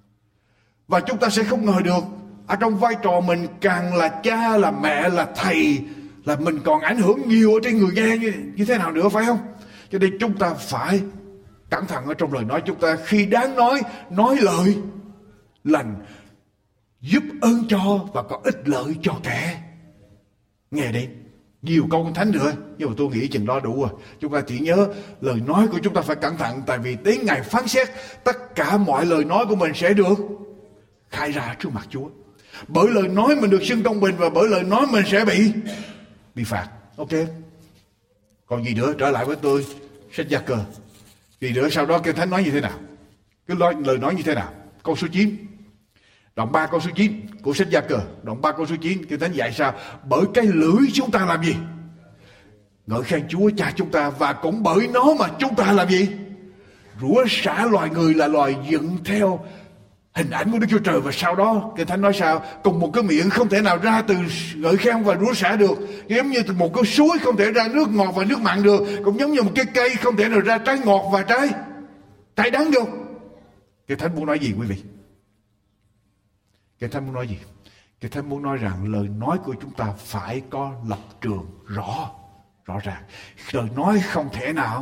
Và chúng ta sẽ không ngờ được ở trong vai trò mình càng là cha, là mẹ, là thầy, là mình còn ảnh hưởng nhiều ở trên người nghe như, như thế nào nữa, phải không? Cho nên chúng ta phải cẩn thận ở trong lời nói chúng ta. Khi đáng nói, nói lời lành, giúp ơn cho và có ích lợi cho kẻ nghe đi. Nhiều câu Kinh Thánh nữa, nhưng mà tôi nghĩ chừng đó đủ rồi. Chúng ta chỉ nhớ lời nói của chúng ta phải cẩn thận, tại vì đến ngày phán xét, tất cả mọi lời nói của mình sẽ được khai ra trước mặt Chúa. Bởi lời nói mình được xưng công bình, và bởi lời nói mình sẽ bị bị phạt. Ok. Còn gì nữa? Trở lại với tôi sách Gia Cơ. Gì nữa? Sau đó Kinh Thánh nói như thế nào? Cái lời, lời nói như thế nào? Câu số chín, đoạn ba câu số chín của sách Gia Cơ, đoạn ba câu số chín, Kinh Thánh dạy sao? Bởi cái lưỡi chúng ta làm gì? Ngợi khen Chúa Cha chúng ta, và cũng bởi nó mà chúng ta làm gì? Rủa xả loài người là loài dựng theo hình ảnh của Đức Chúa Trời. Và sau đó Kinh Thánh nói sao? Cùng một cái miệng không thể nào ra từ ngợi khen và rủa xả được. Giống như từ một cái suối không thể ra nước ngọt và nước mặn được, cũng giống như một cái cây không thể nào ra trái ngọt và trái trái đắng được. Kinh Thánh muốn nói gì quý vị? Kinh Thánh muốn nói gì? Kinh Thánh muốn nói rằng lời nói của chúng ta phải có lập trường rõ rõ ràng. Lời nói không thể nào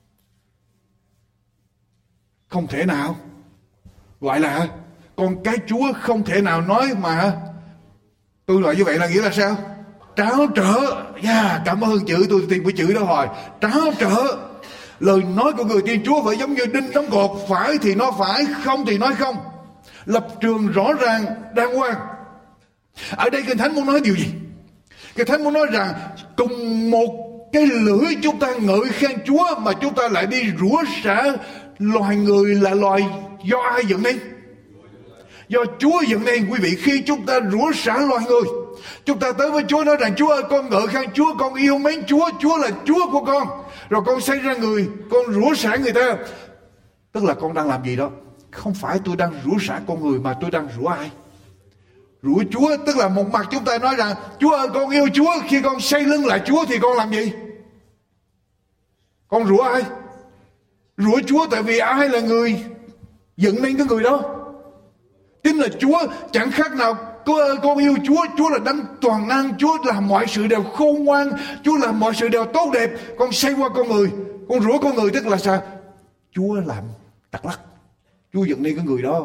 không thể nào gọi là con cái Chúa, không thể nào nói mà tôi nói như vậy là nghĩa là sao? Tráo trở. Yeah, cảm ơn chữ, tôi tìm cái chữ đó hồi. Tráo trở. Lời nói của người tin Chúa phải giống như đinh đóng cột, phải thì nói phải, không thì nói không. Lập trường rõ ràng, đàng hoàng. Ở đây Kinh Thánh muốn nói điều gì? Kinh Thánh muốn nói rằng cùng một cái lưỡi chúng ta ngợi khen Chúa, mà chúng ta lại đi rủa xả loài người là loài do ai dựng nên? Do Chúa dựng nên. Quý vị, khi chúng ta rủa xả loài người, chúng ta tới với Chúa nói rằng Chúa ơi, con ngợi khen Chúa, con yêu mến Chúa, Chúa là Chúa của con, rồi con xây ra người, con rủa xả người ta, tức là con đang làm gì đó? Không phải tôi đang rủa xả con người, mà tôi đang rủa ai? Rủa Chúa. Tức là một mặt chúng ta nói rằng Chúa ơi, con yêu Chúa, khi con xây lưng lại Chúa thì con làm gì? Con rủa ai? Rủa Chúa, tại vì ai là người dựng nên cái người đó? Chính là Chúa. Chẳng khác nào con, con yêu Chúa, Chúa là đấng toàn năng, Chúa làm mọi sự đều khôn ngoan, Chúa làm mọi sự đều tốt đẹp. Con xây qua con người, con rủa con người, tức là sao? Chúa làm Đắk Lắk, Chúa dựng nên cái người đó.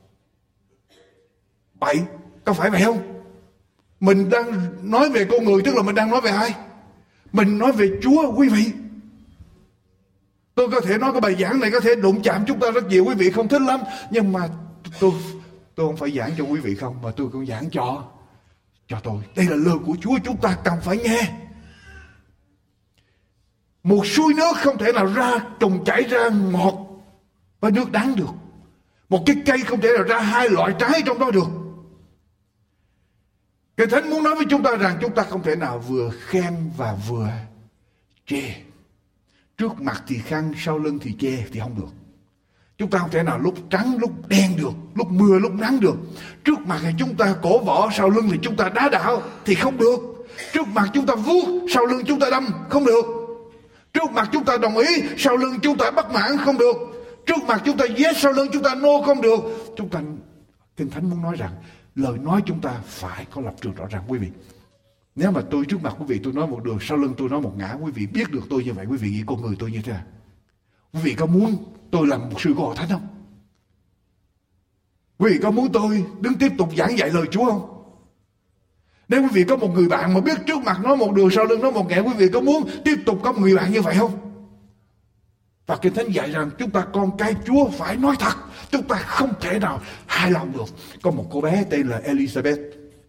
Bậy, có phải vậy không? Mình đang nói về con người, tức là mình đang nói về ai? Mình nói về Chúa, quý vị. Tôi có thể nói cái bài giảng này có thể đụng chạm chúng ta rất nhiều, quý vị không thích lắm. Nhưng mà tôi tôi không phải giảng cho quý vị không, mà tôi cũng giảng cho cho tôi. Đây là lời của Chúa, chúng ta cần phải nghe. Một suối nước không thể nào ra trồng chảy ra ngọt và nước đắng được. Một cái cây không thể nào ra hai loại trái trong đó được. Kinh Thánh muốn nói với chúng ta rằng chúng ta không thể nào vừa khen và vừa chê. Trước mặt thì khen, sau lưng thì chê thì không được. Chúng ta không thể nào lúc trắng lúc đen được, lúc mưa lúc nắng được. Trước mặt thì chúng ta cổ võ, sau lưng thì chúng ta đá đạo thì không được. Trước mặt chúng ta vuốt, sau lưng chúng ta đâm, không được. Trước mặt chúng ta đồng ý, sau lưng chúng ta bất mãn, không được. Trước mặt chúng ta yes, sau lưng chúng ta no, không được. Chúng ta, Kinh Thánh muốn nói rằng lời nói chúng ta phải có lập trường rõ ràng, quý vị. Nếu mà tôi trước mặt quý vị tôi nói một đường, sau lưng tôi nói một ngã, quý vị biết được tôi như vậy, quý vị nghĩ con người tôi như thế nào? Quý vị có muốn tôi làm một sư của Hội Thánh không? Quý vị có muốn tôi đứng tiếp tục giảng dạy lời Chúa không? Nếu quý vị có một người bạn mà biết trước mặt nói một đường, sau lưng nói một ngã, quý vị có muốn tiếp tục có một người bạn như vậy không? Và Kinh Thánh dạy rằng chúng ta con cái Chúa phải nói thật. Chúng ta không thể nào hài lòng được. Có một cô bé tên là Elizabeth.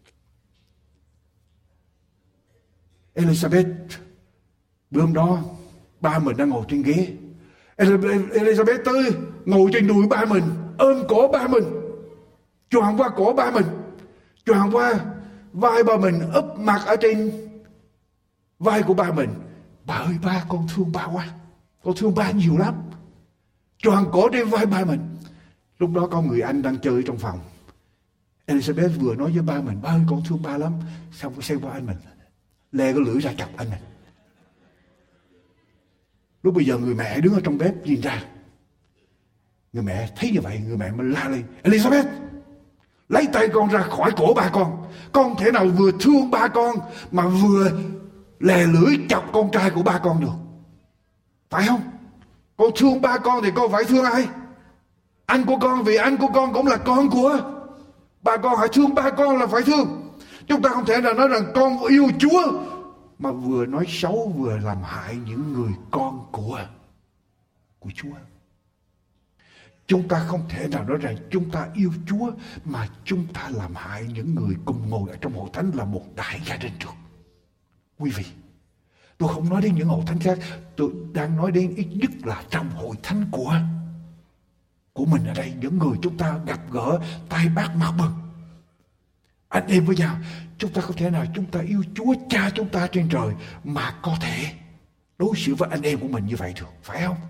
Elizabeth, bữa hôm đó ba mình đang ngồi trên ghế. Elizabeth tới ngồi trên đùi ba mình, ôm cổ ba mình, choàng qua cổ ba mình, choàng qua vai ba mình, úp mặt ở trên vai của ba mình. Bà ơi ba, con thương ba quá, con thương ba nhiều lắm. Choàng cổ trên vai ba mình. Lúc đó có người anh đang chơi trong phòng. Elizabeth vừa nói với ba mình, ba ơi con thương ba lắm. Xong có xem qua anh mình, lê cái lưỡi ra chọc anh mình. Lúc bây giờ người mẹ đứng ở trong bếp nhìn ra. Người mẹ thấy như vậy, người mẹ mới la lên, Elizabeth, lấy tay con ra khỏi cổ ba con. Con thể nào vừa thương ba con mà vừa lè lưỡi chọc con trai của ba con được, phải không? Con thương ba con thì con phải thương ai? Anh của con, vì anh của con cũng là con của ba con. Hãy thương ba con là phải thương. Chúng ta không thể nào nói rằng con yêu Chúa mà vừa nói xấu vừa làm hại những người con của của Chúa. Chúng ta không thể nào nói rằng chúng ta yêu Chúa mà chúng ta làm hại những người cùng ngồi ở trong hội thánh là một đại gia đình được. Quý vị, tôi không nói đến những hội thánh khác, tôi đang nói đến ít nhất là trong hội thánh của của mình ở đây, những người chúng ta gặp gỡ tay bát mặt bừng, anh em với nhau. Chúng ta không thể nào chúng ta yêu Chúa Cha chúng ta trên trời mà có thể đối xử với anh em của mình như vậy được, phải không?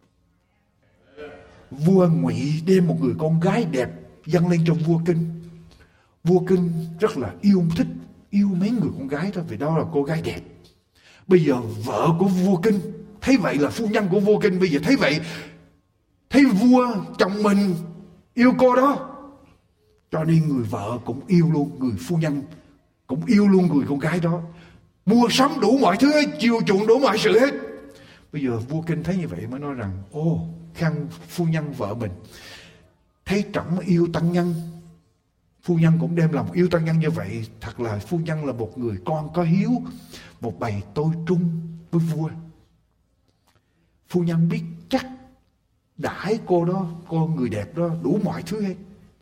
Vua Ngụy đem một người con gái đẹp dâng lên cho vua Kinh. Vua Kinh rất là yêu thích, yêu mến người con gái đó, vì đó là cô gái đẹp. Bây giờ vợ của vua Kinh thấy vậy, là phu nhân của vua Kinh, bây giờ thấy vậy, thấy vua chồng mình yêu cô đó, cho nên người vợ cũng yêu luôn, người phu nhân cũng yêu luôn người con gái đó, mua sắm đủ mọi thứ hết, chiều chuộng đủ mọi sự hết. Bây giờ vua Kinh thấy như vậy mới nói rằng, ô, khăn phu nhân vợ mình thấy trọng yêu tăng nhân, phu nhân cũng đem lòng yêu tăng nhân như vậy. Thật là phu nhân là một người con có hiếu, một bầy tôi trung với vua. Phu nhân biết chắc đãi cô đó, cô người đẹp đó đủ mọi thứ hết,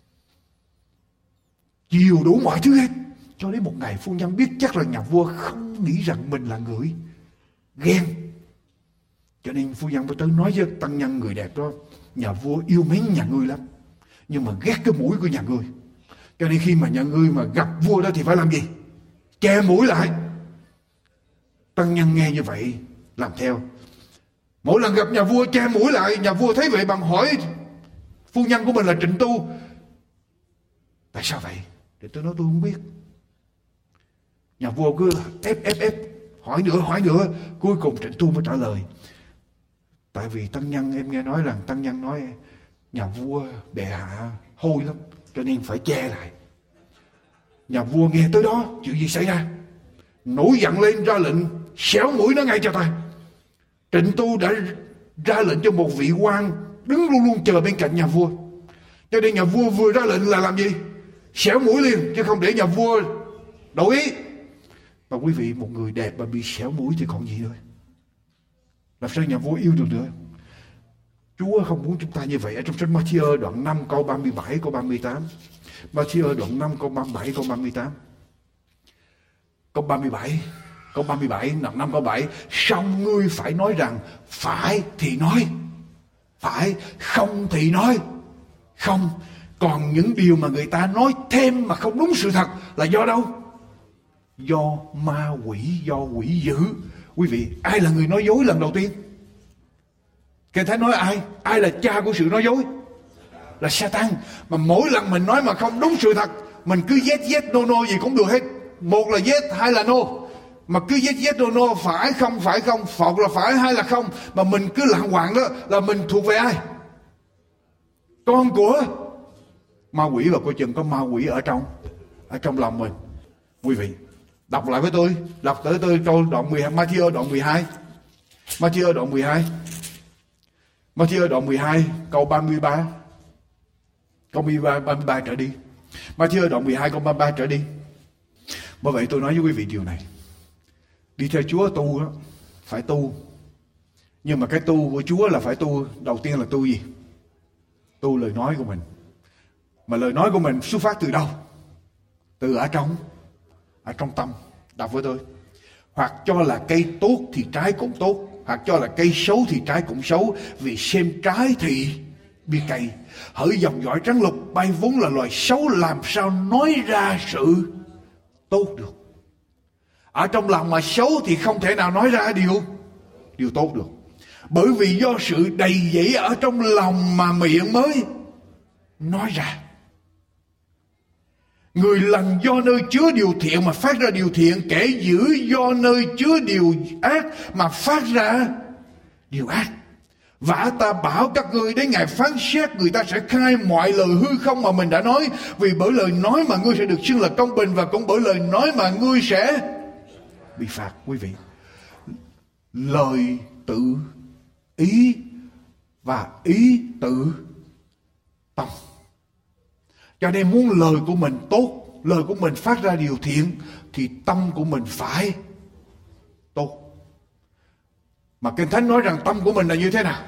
chiều đủ mọi thứ hết. Cho đến một ngày phu nhân biết chắc là nhà vua không nghĩ rằng mình là người ghen, cho nên phu nhân mới tới nói với tăng nhân người đẹp đó, nhà vua yêu mến nhà ngươi lắm, nhưng mà ghét cái mũi của nhà ngươi, cho nên khi mà nhà ngươi mà gặp vua đó thì phải làm gì? Che mũi lại. Tăng nhân nghe như vậy làm theo, mỗi lần gặp nhà vua che mũi lại. Nhà vua thấy vậy bằng hỏi phu nhân của mình là Trịnh Tu, tại sao vậy? Thì tôi nói tôi không biết. Nhà vua cứ ép ép ép hỏi nữa hỏi nữa, cuối cùng Trịnh Tu mới trả lời, tại vì tăng nhân, em nghe nói rằng tăng nhân nói nhà vua bệ hạ hôi lắm, cho nên phải che lại. Nhà vua nghe tới đó, chuyện gì xảy ra? Nổi giận lên ra lệnh xéo mũi nó ngay cho ta. Trịnh Tu đã ra lệnh cho một vị quan đứng luôn luôn chờ bên cạnh nhà vua. Cho nên nhà vua vừa ra lệnh là làm gì? Xẻo mũi liền, chứ không để nhà vua đổi ý. Và quý vị, một người đẹp mà bị xẻo mũi thì còn gì nữa? Làm sao nhà vua yêu được nữa? Chúa không muốn chúng ta như vậy. Ở trong sách Ma-thi-ơ đoạn năm câu ba mươi bảy câu ba mươi tám. Ma-thi-ơ đoạn năm câu ba mươi bảy câu ba mươi tám. Câu ba mươi bảy, câu ba mươi bảy, đoạn năm câu bảy. Song ngươi phải nói rằng phải thì nói, phải, không thì nói không. Còn những điều mà người ta nói thêm mà không đúng sự thật là do đâu? Do ma quỷ, do quỷ dữ. Quý vị, ai là người nói dối lần đầu tiên? Kinh Thánh nói ai? Ai là cha của sự nói dối? Là Satan. Mà mỗi lần mình nói mà không đúng sự thật, mình cứ yes yes no no gì cũng được hết. Một là yes, hai là no. Mà cứ yes yes no no, phải không phải không, phọt là phải hay là không, mà mình cứ lạng hoạng đó, là mình thuộc về ai? Con của ma quỷ. Và coi chừng có ma quỷ ở trong ở trong lòng mình. Quý vị, đọc lại với tôi, đọc tới tôi câu đoạn mười hai, Ma-thi-ơ đoạn mười hai. Ma-thi-ơ đoạn mười hai. Ma-thi-ơ đoạn mười hai câu ba mươi ba. Câu ba mươi ba, ba mươi ba trở đi. Ma-thi-ơ đoạn mười hai câu ba mươi ba trở đi. Bởi vậy tôi nói với quý vị điều này. Đi theo Chúa tu đó, phải tu. Nhưng mà cái tu của Chúa là phải tu. Đầu tiên là tu gì? Tu lời nói của mình. Mà lời nói của mình xuất phát từ đâu? Từ ở trong Ở trong tâm. Đọc với tôi. Hoặc cho là cây tốt thì trái cũng tốt, hoặc cho là cây xấu thì trái cũng xấu. Vì xem trái thì biết cây. Hỡi dòng dõi trắng lục, bay vốn là loài xấu, làm sao nói ra sự tốt được? Ở trong lòng mà xấu thì không thể nào nói ra điều Điều tốt được. Bởi vì do sự đầy dẫy ở trong lòng mà miệng mới nói ra. Người lành do nơi chứa điều thiện mà phát ra điều thiện, kẻ dữ do nơi chứa điều ác mà phát ra điều ác. Vả ta bảo các ngươi, đến ngày phán xét người ta sẽ khai mọi lời hư không mà mình đã nói. Vì bởi lời nói mà ngươi sẽ được xưng là công bình, và cũng bởi lời nói mà ngươi sẽ bị phạt. Quý vị, lời tự ý và ý tự tâm. Cho nên muốn lời của mình tốt, lời của mình phát ra điều thiện, thì tâm của mình phải tốt. Mà Kinh Thánh nói rằng tâm của mình là như thế nào?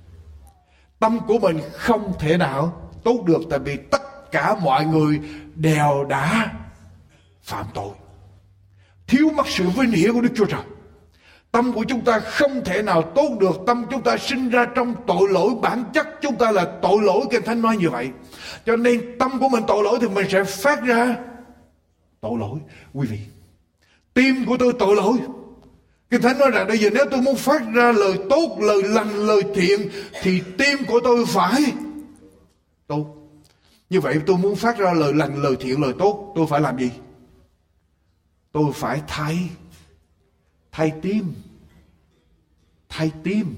Tâm của mình không thể nào tốt được, tại vì tất cả mọi người đều đã phạm tội, thiếu mất sự vinh hiển của Đức Chúa Trời. Tâm của chúng ta không thể nào tốt được. Tâm chúng ta sinh ra trong tội lỗi, bản chất chúng ta là tội lỗi. Kinh Thánh nói như vậy. Cho nên tâm của mình tội lỗi thì mình sẽ phát ra tội lỗi. Quý vị, tim của tôi tội lỗi. Kinh Thánh nói rằng bây giờ nếu tôi muốn phát ra lời tốt, lời lành, lời thiện, thì tim của tôi phải tốt. Như vậy tôi muốn phát ra lời lành, lời thiện, lời tốt, tôi phải làm gì? Tôi phải thay Thay tim. Thay tim.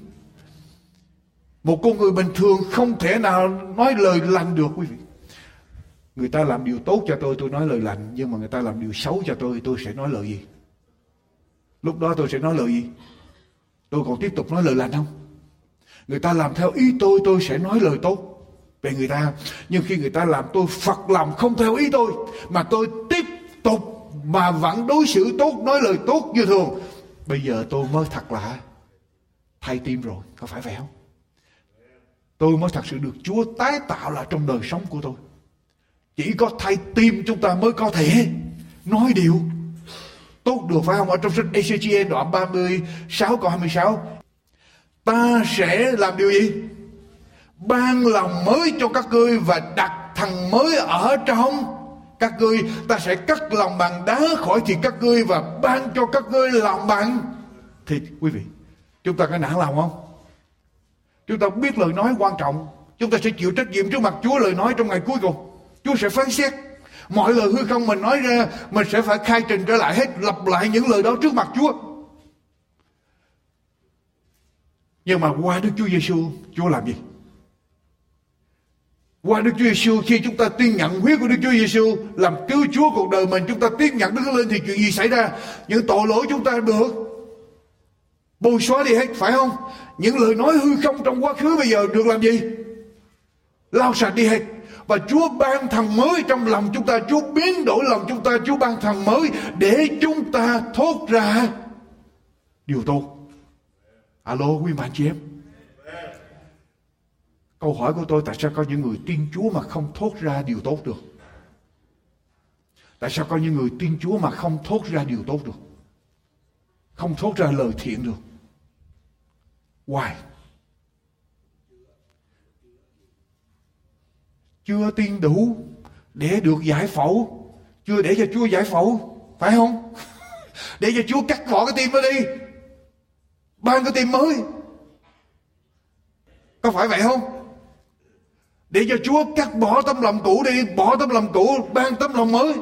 Một con người bình thường không thể nào nói lời lành được, quý vị. Người ta làm điều tốt cho tôi, tôi nói lời lành. Nhưng mà người ta làm điều xấu cho tôi, tôi sẽ nói lời gì? Lúc đó tôi sẽ nói lời gì? Tôi còn tiếp tục nói lời lành không? Người ta làm theo ý tôi, tôi sẽ nói lời tốt về người ta. Nhưng khi người ta làm tôi phật lòng không theo ý tôi, mà tôi tiếp tục mà vẫn đối xử tốt, nói lời tốt như thường, bây giờ tôi mới thật là thay tim rồi. Có phải vậy không? Tôi mới thật sự được Chúa tái tạo lại trong đời sống của tôi. Chỉ có thay tim chúng ta mới có thể nói điều tốt được, phải không? Ở trong sách e xê giê en đoạn ba mươi sáu câu hai mươi sáu, ta sẽ làm điều gì? Ban lòng mới cho các ngươi và đặt thằng mới ở trong các ngươi. Ta sẽ cắt lòng bằng đá khỏi thịt các ngươi và ban cho các ngươi lòng bằng thịt. Quý vị, chúng ta có nản lòng không? Chúng ta biết lời nói quan trọng. Chúng ta sẽ chịu trách nhiệm trước mặt Chúa. Lời nói trong ngày cuối cùng Chúa sẽ phán xét. Mọi lời hư không mình nói ra, mình sẽ phải khai trình trở lại hết, lặp lại những lời đó trước mặt Chúa. Nhưng mà qua Đức Chúa Giêsu, Chúa làm gì? Qua Đức Chúa Giêsu, khi chúng ta tin nhận huyết của Đức Chúa Giêsu làm cứu Chúa cuộc đời mình, chúng ta tiếp nhận Đức Thánh Linh, thì chuyện gì xảy ra? Những tội lỗi chúng ta được bôi xóa đi hết, phải không? Những lời nói hư không trong quá khứ bây giờ được làm gì? Lau sạch đi hết. Và Chúa ban thần mới trong lòng chúng ta. Chúa biến đổi lòng chúng ta. Chúa ban thần mới để chúng ta thốt ra điều tốt. Alo quý bạn chị em. Câu hỏi của tôi, tại sao có những người tin Chúa mà không thốt ra điều tốt được? Tại sao có những người tin Chúa mà không thốt ra điều tốt được? Không thốt ra lời thiện được? Why? Chưa tin đủ để được giải phẫu. Chưa để cho Chúa giải phẫu, phải không? Để cho Chúa cắt bỏ cái tim đó đi, ban cái tim mới. Có phải vậy không? Để cho Chúa cắt bỏ tấm lòng cũ đi, bỏ tấm lòng cũ, ban tấm lòng mới.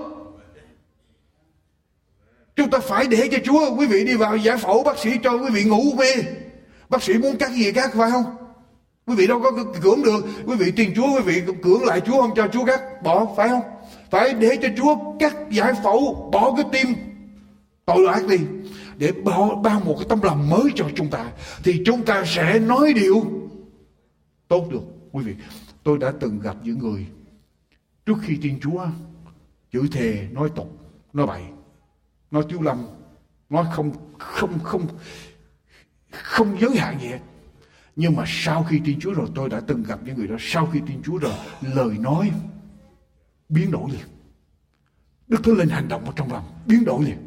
Chúng ta phải để cho Chúa. Quý vị đi vào giải phẫu, bác sĩ cho quý vị ngủ mê, bác sĩ muốn cắt gì cắt, phải không? Quý vị đâu có cưỡng được. Quý vị tin Chúa, quý vị cưỡng lại Chúa, không cho Chúa cắt bỏ, phải không? Phải để cho Chúa cắt giải phẫu, bỏ cái tim tội ác đi, để ban một cái tấm lòng mới cho chúng ta, thì chúng ta sẽ nói điều tốt được. Quý vị, tôi đã từng gặp những người trước khi tin Chúa chửi thề, nói tục, nói bậy, nói tiếu lâm, nói không không không không giới hạn gì hết. Nhưng mà sau khi tin Chúa rồi, tôi đã từng gặp những người đó, sau khi tin Chúa rồi, lời nói biến đổi liền. Đức Thánh Linh hành động ở trong lòng, biến đổi liền.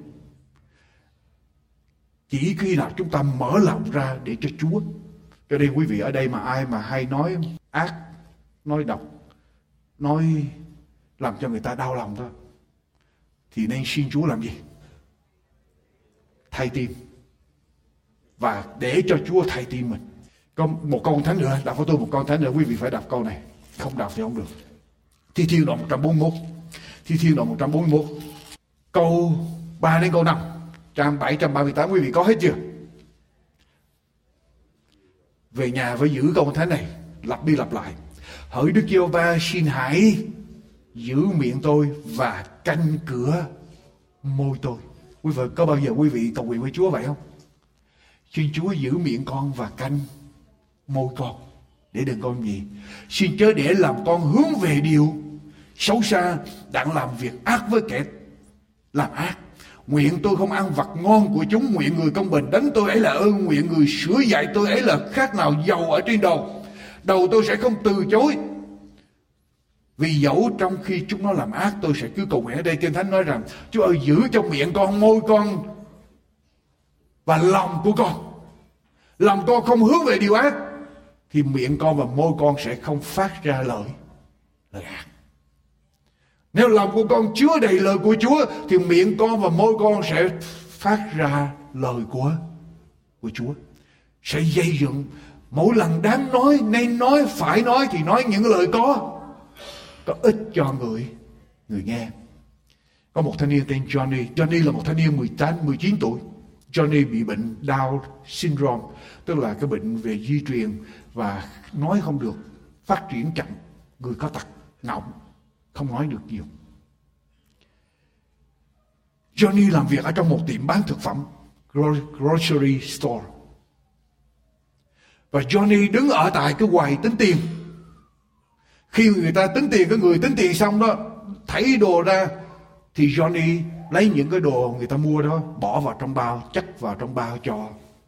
Chỉ khi nào chúng ta mở lòng ra để cho Chúa. Cho nên quý vị ở đây mà ai mà hay nói ác, nói độc, nói làm cho người ta đau lòng thôi, thì nên xin Chúa làm gì? Thay tim. Và để cho Chúa thay tim mình. Có một câu thánh nữa, đọc với tôi một câu thánh nữa, quý vị phải đọc câu này. Không đọc thì không được. Thi Thiên đoạn một trăm bốn mươi mốt. Thi Thiên đoạn một trăm bốn mươi mốt. Câu ba đến câu năm. Trang bảy trăm ba mươi tám, quý vị có hết chưa? Về nhà phải giữ câu thánh này, lặp đi lặp lại. Hỡi Đức Giê-hô-va, xin hãy giữ miệng tôi và canh cửa môi tôi. Quý vị có bao giờ quý vị cầu nguyện với Chúa vậy không? Xin Chúa giữ miệng con và canh môi con, để đừng con gì. Xin chớ để làm con hướng về điều xấu xa, đặng làm việc ác với kẻ làm ác. Nguyện tôi không ăn vật ngon của chúng. Nguyện người công bình đánh tôi ấy là ơn. Nguyện người sửa dạy tôi ấy là khác nào dầu ở trên đầu. Đầu tôi sẽ không từ chối. Vì dẫu trong khi chúng nó làm ác, tôi sẽ cứ cầu nguyện. Ở đây Kinh Thánh nói rằng Chúa ơi, giữ cho miệng con, môi con và lòng của con. Lòng con không hướng về điều ác, thì miệng con và môi con sẽ không phát ra lời lời ác. Nếu lòng của con chứa đầy lời của Chúa, thì miệng con và môi con sẽ phát ra lời của của Chúa. Sẽ dây dựng. Mỗi lần đáng nói, nên nói, phải nói thì nói những lời có có ích cho người người nghe. Có một thanh niên tên Johnny. Johnny là một thanh niên mười tám, mười chín tuổi. Johnny bị bệnh Down syndrome, tức là cái bệnh về di truyền và nói không được, phát triển chậm, người có tật ngọng, không nói được nhiều. Johnny làm việc ở trong một tiệm bán thực phẩm, grocery store. Và Johnny đứng ở tại cái quầy tính tiền. Khi người ta tính tiền, cái người tính tiền xong đó, thấy đồ ra, thì Johnny lấy những cái đồ người ta mua đó, bỏ vào trong bao, chất vào trong bao cho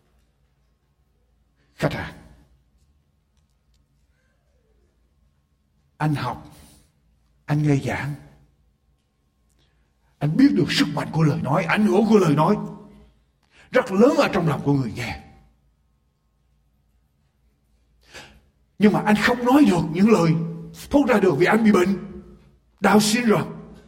khách hàng. Anh học, anh nghe giảng, anh biết được sức mạnh của lời nói, ảnh hưởng của lời nói rất lớn ở trong lòng của người nghe. Nhưng mà anh không nói được những lời thốt ra được vì anh bị bệnh Down syndrome.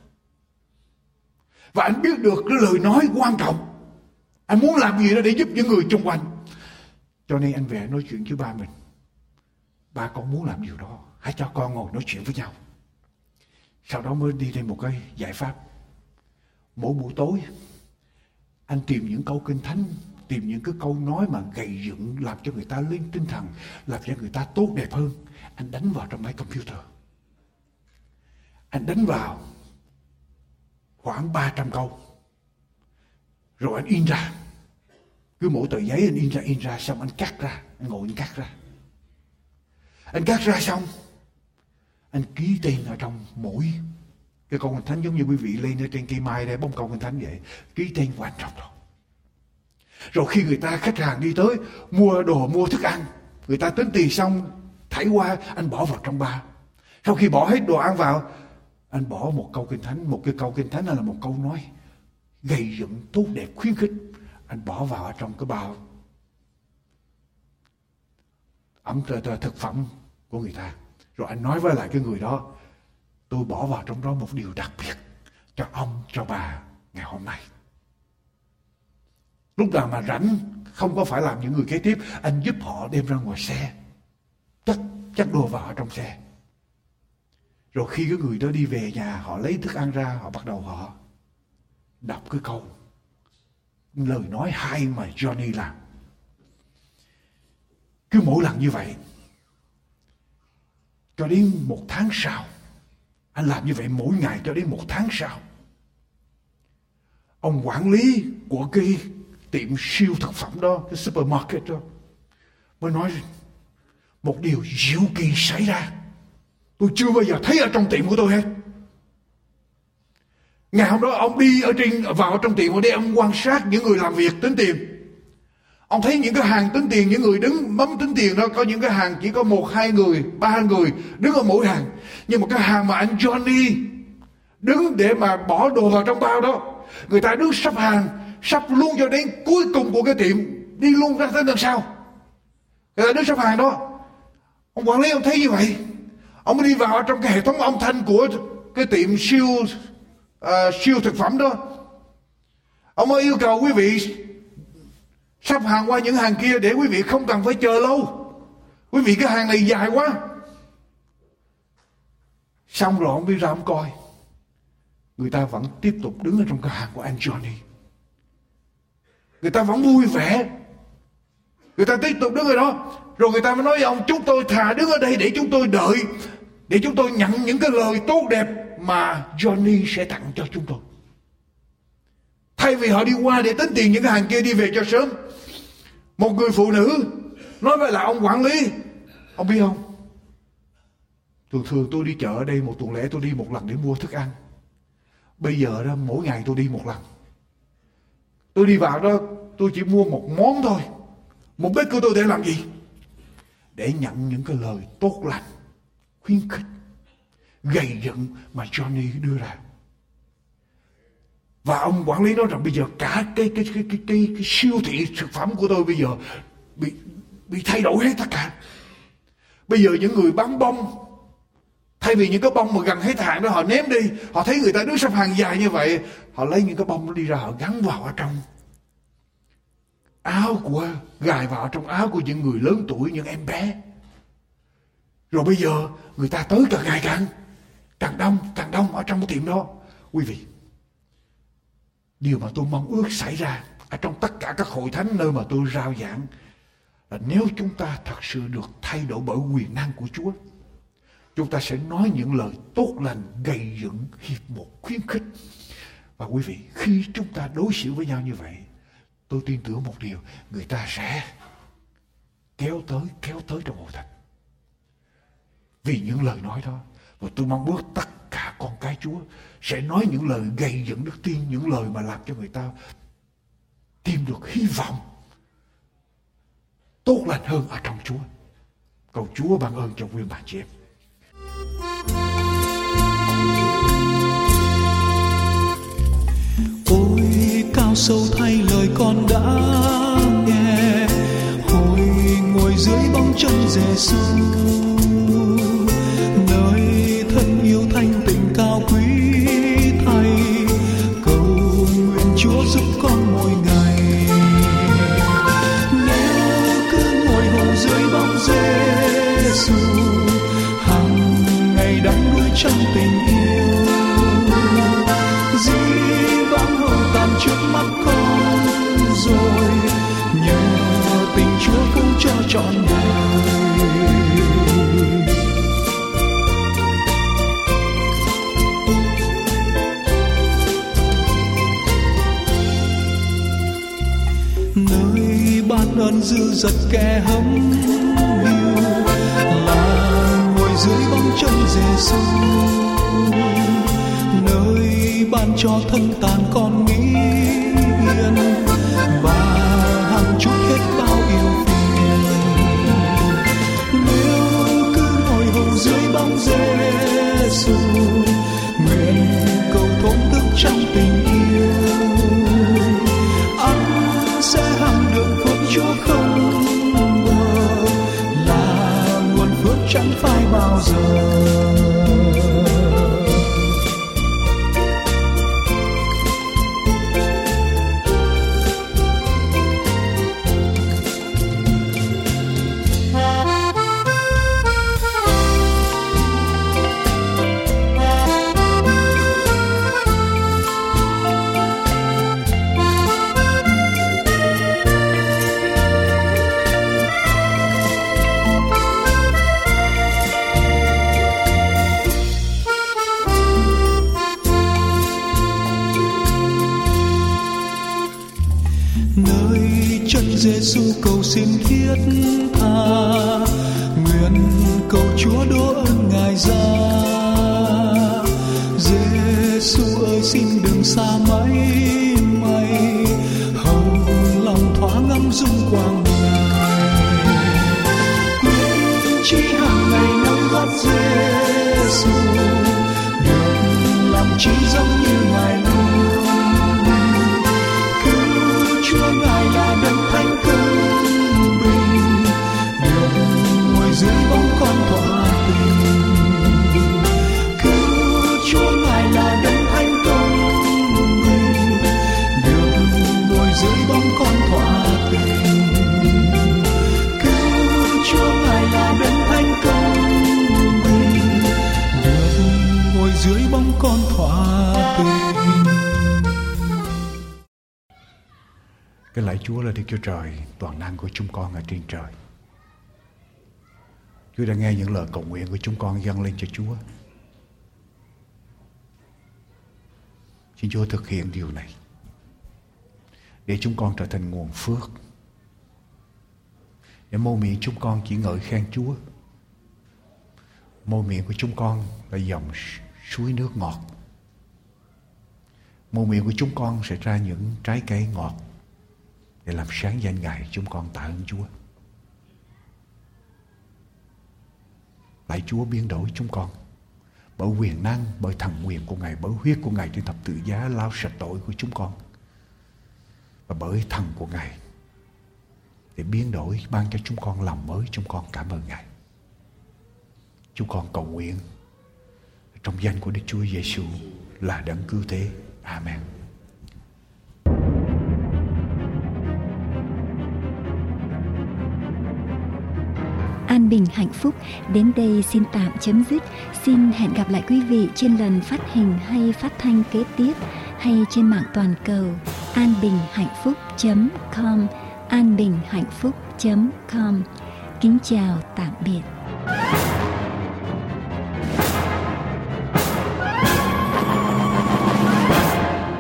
Và anh biết được cái lời nói quan trọng. Anh muốn làm gì đó để giúp những người xung quanh. Cho nên anh về nói chuyện với ba mình. Ba con muốn làm điều đó, hãy cho con ngồi nói chuyện với nhau. Sau đó mới đi lên một cái giải pháp. Mỗi buổi tối anh tìm những câu kinh thánh, tìm những cái câu nói mà gầy dựng, làm cho người ta lên tinh thần, làm cho người ta tốt đẹp hơn. Anh đánh vào trong máy computer. Anh đánh vào khoảng ba trăm câu. Rồi anh in ra. Cứ mỗi tờ giấy anh in ra in ra xong anh cắt ra, anh ngồi anh cắt ra. Anh cắt ra xong, anh ký tên ở trong mỗi cái câu Kinh Thánh, giống như quý vị lên ở trên cây mai đây bông câu Kinh Thánh vậy, ký tên của anh trong đó. Rồi khi người ta, khách hàng đi tới mua đồ, mua thức ăn, người ta tính tiền xong thảy qua, anh bỏ vào trong bao. Sau khi bỏ hết đồ ăn vào, anh bỏ một câu Kinh Thánh, một cái câu Kinh Thánh là một câu nói gây dựng, tốt đẹp, khuyến khích, anh bỏ vào ở trong cái bao ẩm thực phẩm của người ta. Rồi anh nói với lại cái người đó, tôi bỏ vào trong đó một điều đặc biệt cho ông, cho bà ngày hôm nay. Lúc nào mà rảnh, không có phải làm những người kế tiếp, anh giúp họ đem ra ngoài xe, chất chất đồ vào ở trong xe. Rồi khi cái người đó đi về nhà, họ lấy thức ăn ra, họ bắt đầu họ đọc cái câu lời nói hay mà Johnny làm. Cứ mỗi lần như vậy, cho đến một tháng sau, anh làm như vậy mỗi ngày cho đến một tháng sau, ông quản lý của cái tiệm siêu thực phẩm đó, cái supermarket đó, mới nói một điều diệu kỳ xảy ra, tôi chưa bao giờ thấy ở trong tiệm của tôi hết. Ngày hôm đó ông đi ở trên vào trong tiệm để ông quan sát những người làm việc tính tiền. Ông thấy những cái hàng tính tiền, những người đứng bấm tính tiền đó, có những cái hàng chỉ có một, hai người, ba người đứng ở mỗi hàng. Nhưng mà cái hàng mà anh Johnny đứng để mà bỏ đồ vào trong bao đó, người ta đứng sắp hàng, sắp luôn cho đến cuối cùng của cái tiệm, đi luôn ra tới đằng sau. Người ta đứng sắp hàng đó. Ông quản lý ông thấy như vậy, ông mới đi vào trong cái hệ thống âm thanh của cái tiệm siêu uh, siêu thực phẩm đó. Ông mới yêu cầu quý vị sắp hàng qua những hàng kia để quý vị không cần phải chờ lâu. Quý vị cái hàng này dài quá. Xong rồi ông đi ra ông coi, người ta vẫn tiếp tục đứng ở trong cái hàng của anh Johnny. Người ta vẫn vui vẻ, người ta tiếp tục đứng ở đó. Rồi người ta mới nói với ông, chúng tôi thà đứng ở đây để chúng tôi đợi, để chúng tôi nhận những cái lời tốt đẹp mà Johnny sẽ tặng cho chúng tôi. Thay vì họ đi qua để tính tiền những cái hàng kia đi về cho sớm. Một người phụ nữ nói với lại ông quản lý, ông biết không, thường thường tôi đi chợ ở đây một tuần lễ tôi đi một lần để mua thức ăn. Bây giờ đó mỗi ngày tôi đi một lần. Tôi đi vào đó tôi chỉ mua một món thôi. Mục đích của tôi để làm gì? Để nhận những cái lời tốt lành, khuyến khích, gầy dựng mà Johnny đưa ra. Và ông quản lý nói rằng bây giờ cả cái cái cái cái cái, cái siêu thị thực phẩm của tôi bây giờ bị bị thay đổi hết tất cả. Bây giờ những người bán bông, thay vì những cái bông mà gần hết hạn đó họ ném đi, họ thấy người ta đứng sắp hàng dài như vậy, họ lấy những cái bông đó đi ra, họ gắn vào ở trong áo của, gài vào trong áo của những người lớn tuổi, những em bé. Rồi bây giờ người ta tới càng ngày càng càng đông, càng đông ở trong cái tiệm đó. Quý vị, điều mà tôi mong ước xảy ra ở trong tất cả các hội thánh nơi mà tôi rao giảng là nếu chúng ta thật sự được thay đổi bởi quyền năng của Chúa, chúng ta sẽ nói những lời tốt lành, gầy dựng, hiệp một, khuyến khích. Và quý vị, khi chúng ta đối xử với nhau như vậy, tôi tin tưởng một điều, người ta sẽ kéo tới, kéo tới trong hội thánh. Vì những lời nói đó. Và tôi mong ước tất cả con cái Chúa sẽ nói những lời gầy dựng đức tin, những lời mà làm cho người ta tìm được hy vọng tốt lành hơn ở trong Chúa. Cầu Chúa ban ơn cho quý bạn chị em. Ôi cao sâu thay lời con đã nghe, hồi ngồi dưới bóng chân Giêsu, nơi thân yêu thanh tịnh cao quý thay. Cầu nguyện Chúa giúp con mỗi ngày, nếu cứ ngồi hầu dưới bóng Giêsu, hàng ngày đắm đuối trong tình yêu. Dĩ vãng hầu tàn trước mắt con rồi, nhờ tình Chúa cứu cho trọn đời. Nơi giật kẻ hấm hiu, là ngồi dưới bóng chân Giêsu, nơi ban cho thân tàn con nghĩ yên và hàng chút hết bao yêu phiền. Nếu cứ ngồi hầu dưới bóng Giêsu, nguyện cầu thổn thức trong tình yêu, anh sẽ hằng được phước Chúa không ngờ, là nguồn phước chẳng phai bao giờ. Giêsu cầu xin thiết tha, nguyện cầu Chúa đổ ơn Ngài ra. Giêsu ơi xin đừng xa mãi mây, hầu lòng thoáng ngắm dung quang Ngài. Nguyện chỉ hàng ngày nâng gót Giêsu, được làm chỉ giống như Ngài luôn. Cứu Chúa Ngài là đấng thánh công bình, được ngồi dưới bóng con thỏa tình. Cứu Chúa Ngài là đấng thánh công bình, được ngồi dưới bóng con thỏa tình. Cứu Chúa Ngài là đấng thánh công bình, được ngồi dưới bóng con thỏa tình. Cái lạy Chúa là Đức Chúa Trời, toàn năng của chúng con ở trên trời. Chúa đã nghe những lời cầu nguyện của chúng con dâng lên cho Chúa. Xin Chúa thực hiện điều này, để chúng con trở thành nguồn phước, để môi miệng chúng con chỉ ngợi khen Chúa. Môi miệng của chúng con là dòng suối nước ngọt. Môi miệng của chúng con sẽ ra những trái cây ngọt, để làm sáng danh Ngài. Chúng con tạ ơn Chúa. Lạy Chúa biến đổi chúng con bởi quyền năng, bởi thần quyền của Ngài, bởi huyết của Ngài trên thập tự giá lau sạch tội của chúng con, và bởi thần của Ngài để biến đổi, ban cho chúng con lòng mới. Chúng con cảm ơn Ngài. Chúng con cầu nguyện trong danh của Đức Chúa Giêsu là đấng cứu thế. Amen. An bình hạnh phúc đến đây xin tạm chấm dứt. Xin hẹn gặp lại quý vị trên lần phát hình hay phát thanh kế tiếp, hay trên mạng toàn cầu an bình hạnh phúc chấm com, an bình hạnh phúc chấm com. Kính chào tạm biệt.